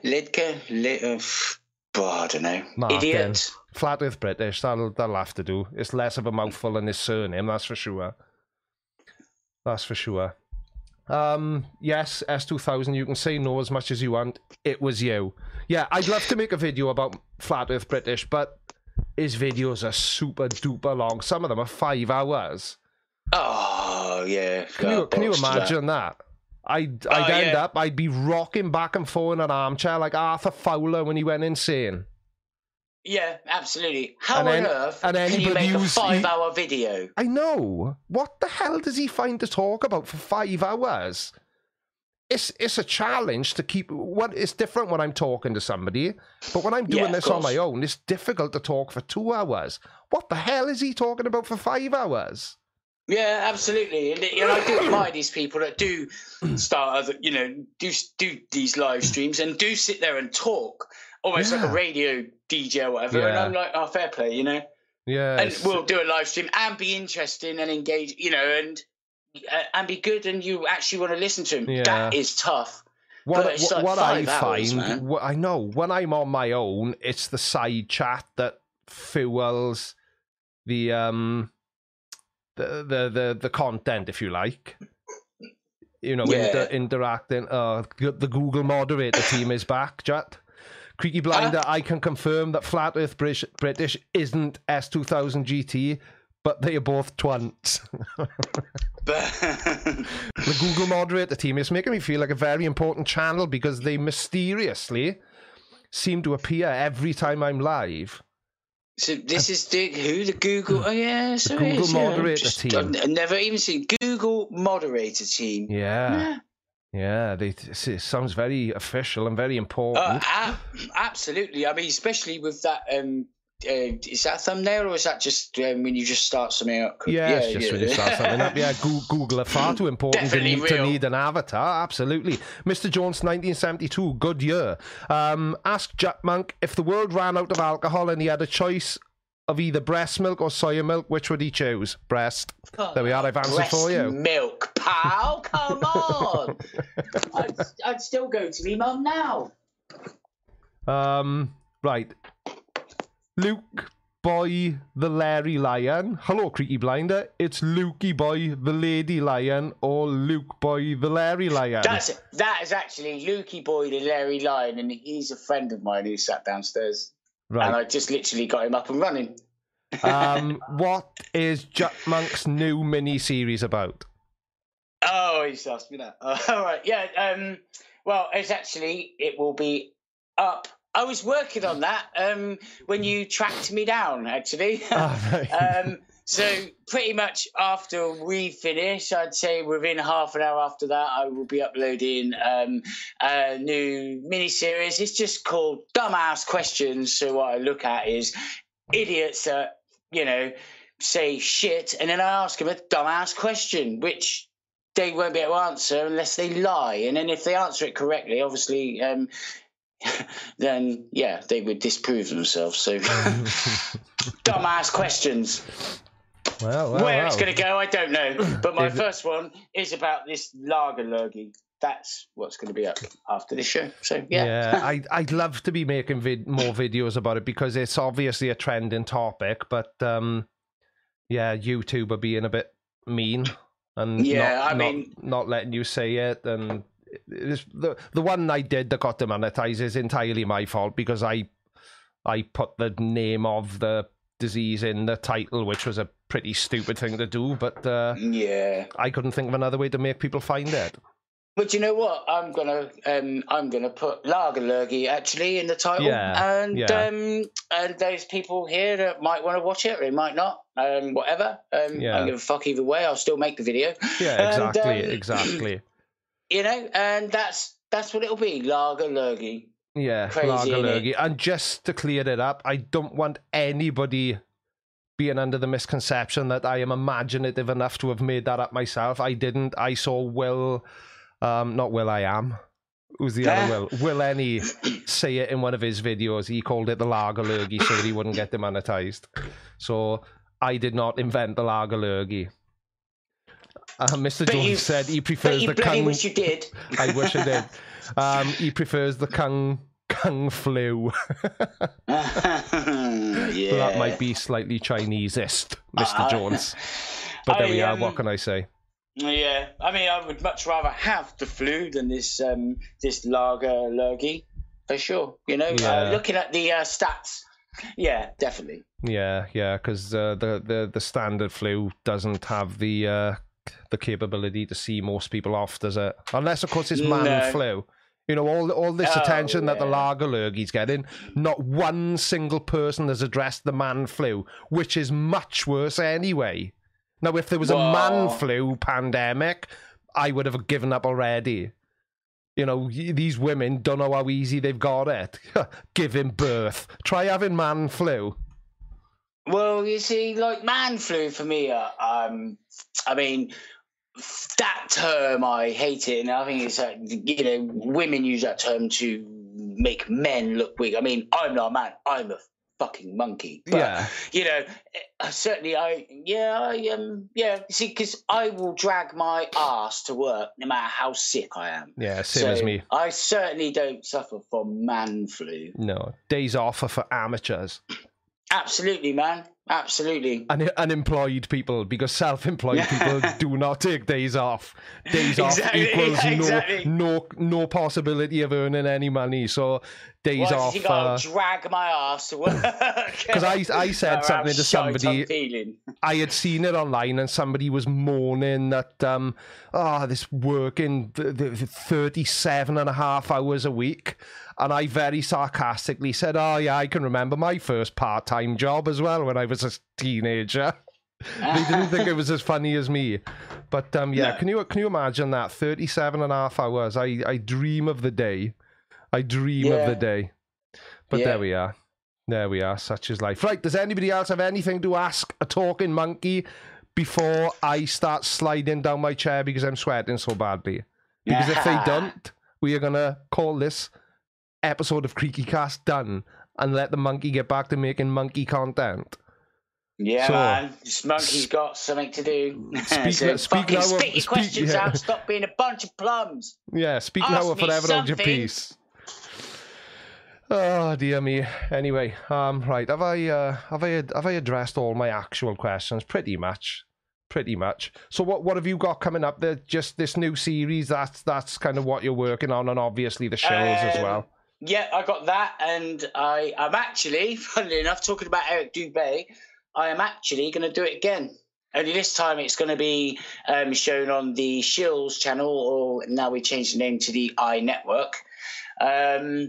don't know. Martin. Idiot. Flat Earth British, that'll have to do. It's less of a mouthful than his surname, that's for sure. That's for sure. Yes, S2000, you can say no as much as you want. It was you. Yeah, I'd love to make a video about Flat Earth British, but his videos are super duper long. Some of them are 5 hours. Oh, yeah. Can you imagine that? I'd end up, I'd be rocking back and forth in an armchair like Arthur Fowler when he went insane. Yeah, absolutely. How on earth can you make a 5-hour video? I know. What the hell does he find to talk about for 5 hours? It's a challenge to keep... It's different when I'm talking to somebody, but when I'm doing this on my own, it's difficult to talk for 2 hours. What the hell is he talking about for 5 hours? Yeah, absolutely. And I do admire these people that do start, do these live streams and do sit there and talk. Almost like a radio DJ or whatever. Yeah. And I'm like, fair play, Yeah. And we'll do a live stream and be interesting and engage, and be good and you actually want to listen to him. Yeah. That is tough. What I find, I know, when I'm on my own, it's the side chat that fuels the content, if you like. Interacting. The Google moderator team is back, Jut. Creaky Blinder, I can confirm that Flat Earth British isn't S2000 GT, but they are both twunts. The Google moderator team is making me feel like a very important channel because they mysteriously seem to appear every time I'm live. So this is the Google? Oh yeah, so the Google moderator team. I've never even seen Google moderator team. Yeah. It sounds very official and very important. Absolutely. I mean, especially with that. Is that a thumbnail or is that just when you just start something up? Yeah, it's just when you start something up. Yeah, Google are far too important to need an avatar. Absolutely. Mr. Jones, 1972, good year. Ask Jack Monk, if the world ran out of alcohol and he had a choice of either breast milk or soya milk, which would he choose? Breast. There we are, I've answered for you. Breast milk, pal, come on. I'd still go to me mum now. Right. Luke Boy the Larry Lion. Hello, Creaky Blinder. It's Lukey Boy the Lady Lion or Luke Boy the Larry Lion. That is actually Lukey Boy the Larry Lion, and he's a friend of mine who sat downstairs. Right. And I just literally got him up and running. What is Jack Monk's new mini-series about? Oh, he's asked me that. All right, yeah. Well, it will be up. I was working on that when you tracked me down, actually. Oh, right. So pretty much after we finish, I'd say within half an hour after that, I will be uploading a new mini-series. It's just called Dumbass Questions. So what I look at is idiots that, say shit, and then I ask them a dumbass question, which they won't be able to answer unless they lie. And then if they answer it correctly, obviously... then they would disprove themselves. So dumbass questions. Where it's going to go, I don't know. But my first one is about this lager lurgy. That's what's going to be up after this show. So I'd love to be making more videos about it because it's obviously a trending topic. But YouTube are being a bit mean and not letting you say it and. The one I did that got demonetized is entirely my fault because I put the name of the disease in the title, which was a pretty stupid thing to do, but I couldn't think of another way to make people find it. But you know what? I'm gonna put lager lurgy actually in the title, and those people here that might want to watch it, or they might not, whatever. I don't give a fuck either way. I'll still make the video. Yeah, exactly. And that's what it'll be, lager lurgy. Yeah, crazy, lager lurgy. And just to clear it up, I don't want anybody being under the misconception that I am imaginative enough to have made that up myself. I didn't. I saw Will, not Will I Am. Who's the other Will? Will Any say it in one of his videos. He called it the lager lurgy so that he wouldn't get demonetized. So I did not invent the lager lurgy. Mr. Jones said he prefers the Kung. I wish you did. I wish I did. He prefers the Kung flu. That might be slightly Chinesist, Mr. Jones. But there we are. What can I say? Yeah, I mean, I would much rather have the flu than this lager lurgy, for sure. Looking at the stats. Yeah, definitely. Yeah, because the standard flu doesn't have the capability to see most people off, does it? Unless, of course, it's man flu. All this attention that the lager lurgy's getting, not one single person has addressed the man flu, which is much worse anyway. Now, if there was a man flu pandemic, I would have given up already. These women don't know how easy they've got it. Giving birth. Try having man flu. Well, you see, like man flu for me, I mean, that term, I hate it. And I think it's like, women use that term to make men look weak. I mean, I'm not a man. I'm a fucking monkey. But, certainly see, because I will drag my ass to work no matter how sick I am. Yeah, same as me. I certainly don't suffer from man flu. No, days off are for amateurs. Absolutely, man. absolutely. And unemployed people, because self-employed people do not take days off. Days off equals no possibility of earning any money. So days off. You got to drag my ass to work. Because I said something to somebody. I had seen it online, and somebody was moaning that this working 37 and a half hours a week. And I very sarcastically said, oh, yeah, I can remember my first part-time job as well when I was a teenager. They didn't think it was as funny as me. But, no. Can you imagine that? 37 and a half hours. I dream of the day. I dream of the day. But there we are. There we are. Such is life. Right, does anybody else have anything to ask a talking monkey before I start sliding down my chair because I'm sweating so badly? Because if they don't, we are going to call this episode of Creaky Cast done and let the monkey get back to making monkey content. Yeah, man. This monkey's got something to do. Spit your questions out. Stop being a bunch of plums. Yeah, speak now or forever hold your peace. Oh dear me. Anyway, right. Have I addressed all my actual questions? Pretty much. So what have you got coming up there? Just this new series. That's kind of what you're working on, and obviously the shows as well. Yeah, I got that, and I'm actually, funnily enough, talking about Eric Dubé, I am actually going to do it again. Only this time it's going to be shown on the Shills channel, or now we changed the name to the iNetwork. But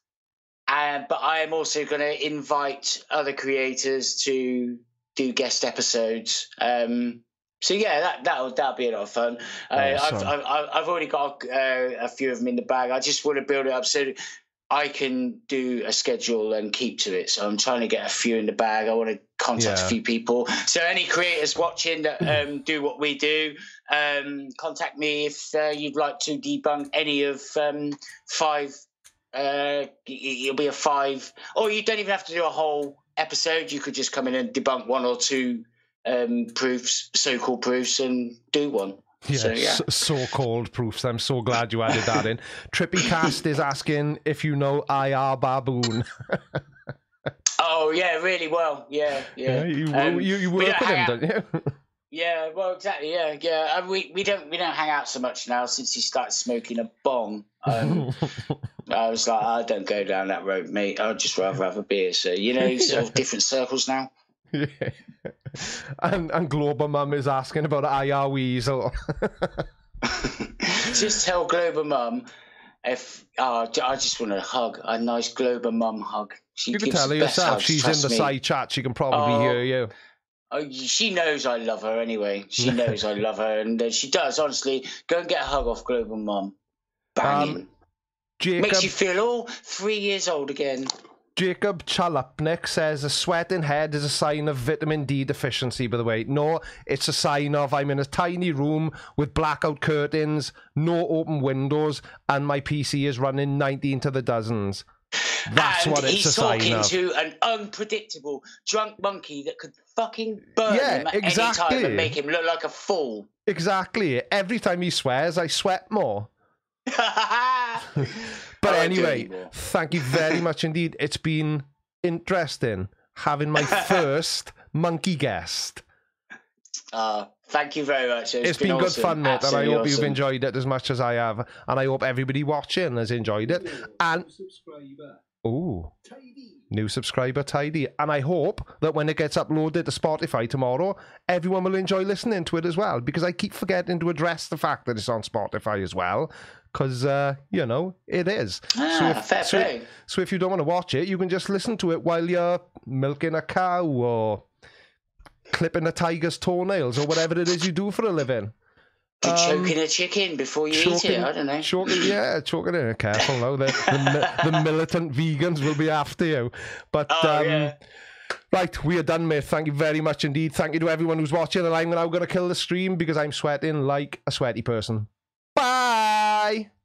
I am also going to invite other creators to do guest episodes. So yeah, that'll be a lot of fun. I've already got a few of them in the bag. I just want to build it up so I can do a schedule and keep to it. So I'm trying to get a few in the bag. I want to contact a few people. So any creators watching that do what we do, contact me if you'd like to debunk any of 5. It'll be a 5, or you don't even have to do a whole episode. You could just come in and debunk 1 or 2 proofs, so-called proofs, and do one. So-called proofs. I'm so glad you added that in. Trippy Cast is asking if you know IR Baboon. Oh yeah, really well. Yeah. You work with him, don't you? Yeah, well, exactly. Yeah. We don't hang out so much now since he started smoking a bong. I was like, I don't go down that road, mate. I'd just rather have a beer. So sort of different circles now. Yeah. And Global Mum is asking about IR Weasel. Just tell Global Mum if I just want a nice Global Mum hug. You can tell her yourself. She's in the side chat. She can probably hear you. Oh, she knows I love her anyway. She knows I love her, and she does. Honestly, go and get a hug off Global Mum. Banging. Makes you feel all 3 years old again. Jacob Chalupnik says a sweating head is a sign of vitamin D deficiency, by the way. No, it's a sign of I'm in a tiny room with blackout curtains, no open windows, and my PC is running 19 to the dozens. That's what it's a sign of. He's talking to an unpredictable drunk monkey that could fucking burn him at any time and make him look like a fool. Exactly. Every time he swears, I sweat more. But anyway, thank you very much indeed. It's been interesting having my first monkey guest. Thank you very much. It's been good awesome. fun, mate, Absolutely and I hope awesome. you've enjoyed it as much as I have, and I hope everybody watching has enjoyed it. And new subscriber Tidy, and I hope that when it gets uploaded to Spotify tomorrow, everyone will enjoy listening to it as well, because I keep forgetting to address the fact that it's on Spotify as well, because it is. So if you don't want to watch it, you can just listen to it while you're milking a cow or clipping a tiger's toenails or whatever it is you do for a living. Choking a chicken before you eat it, I don't know. Choking it. Careful now. The militant vegans will be after you. But right, we are done, mate. Thank you very much indeed. Thank you to everyone who's watching, and I'm now going to kill the stream because I'm sweating like a sweaty person. Bye!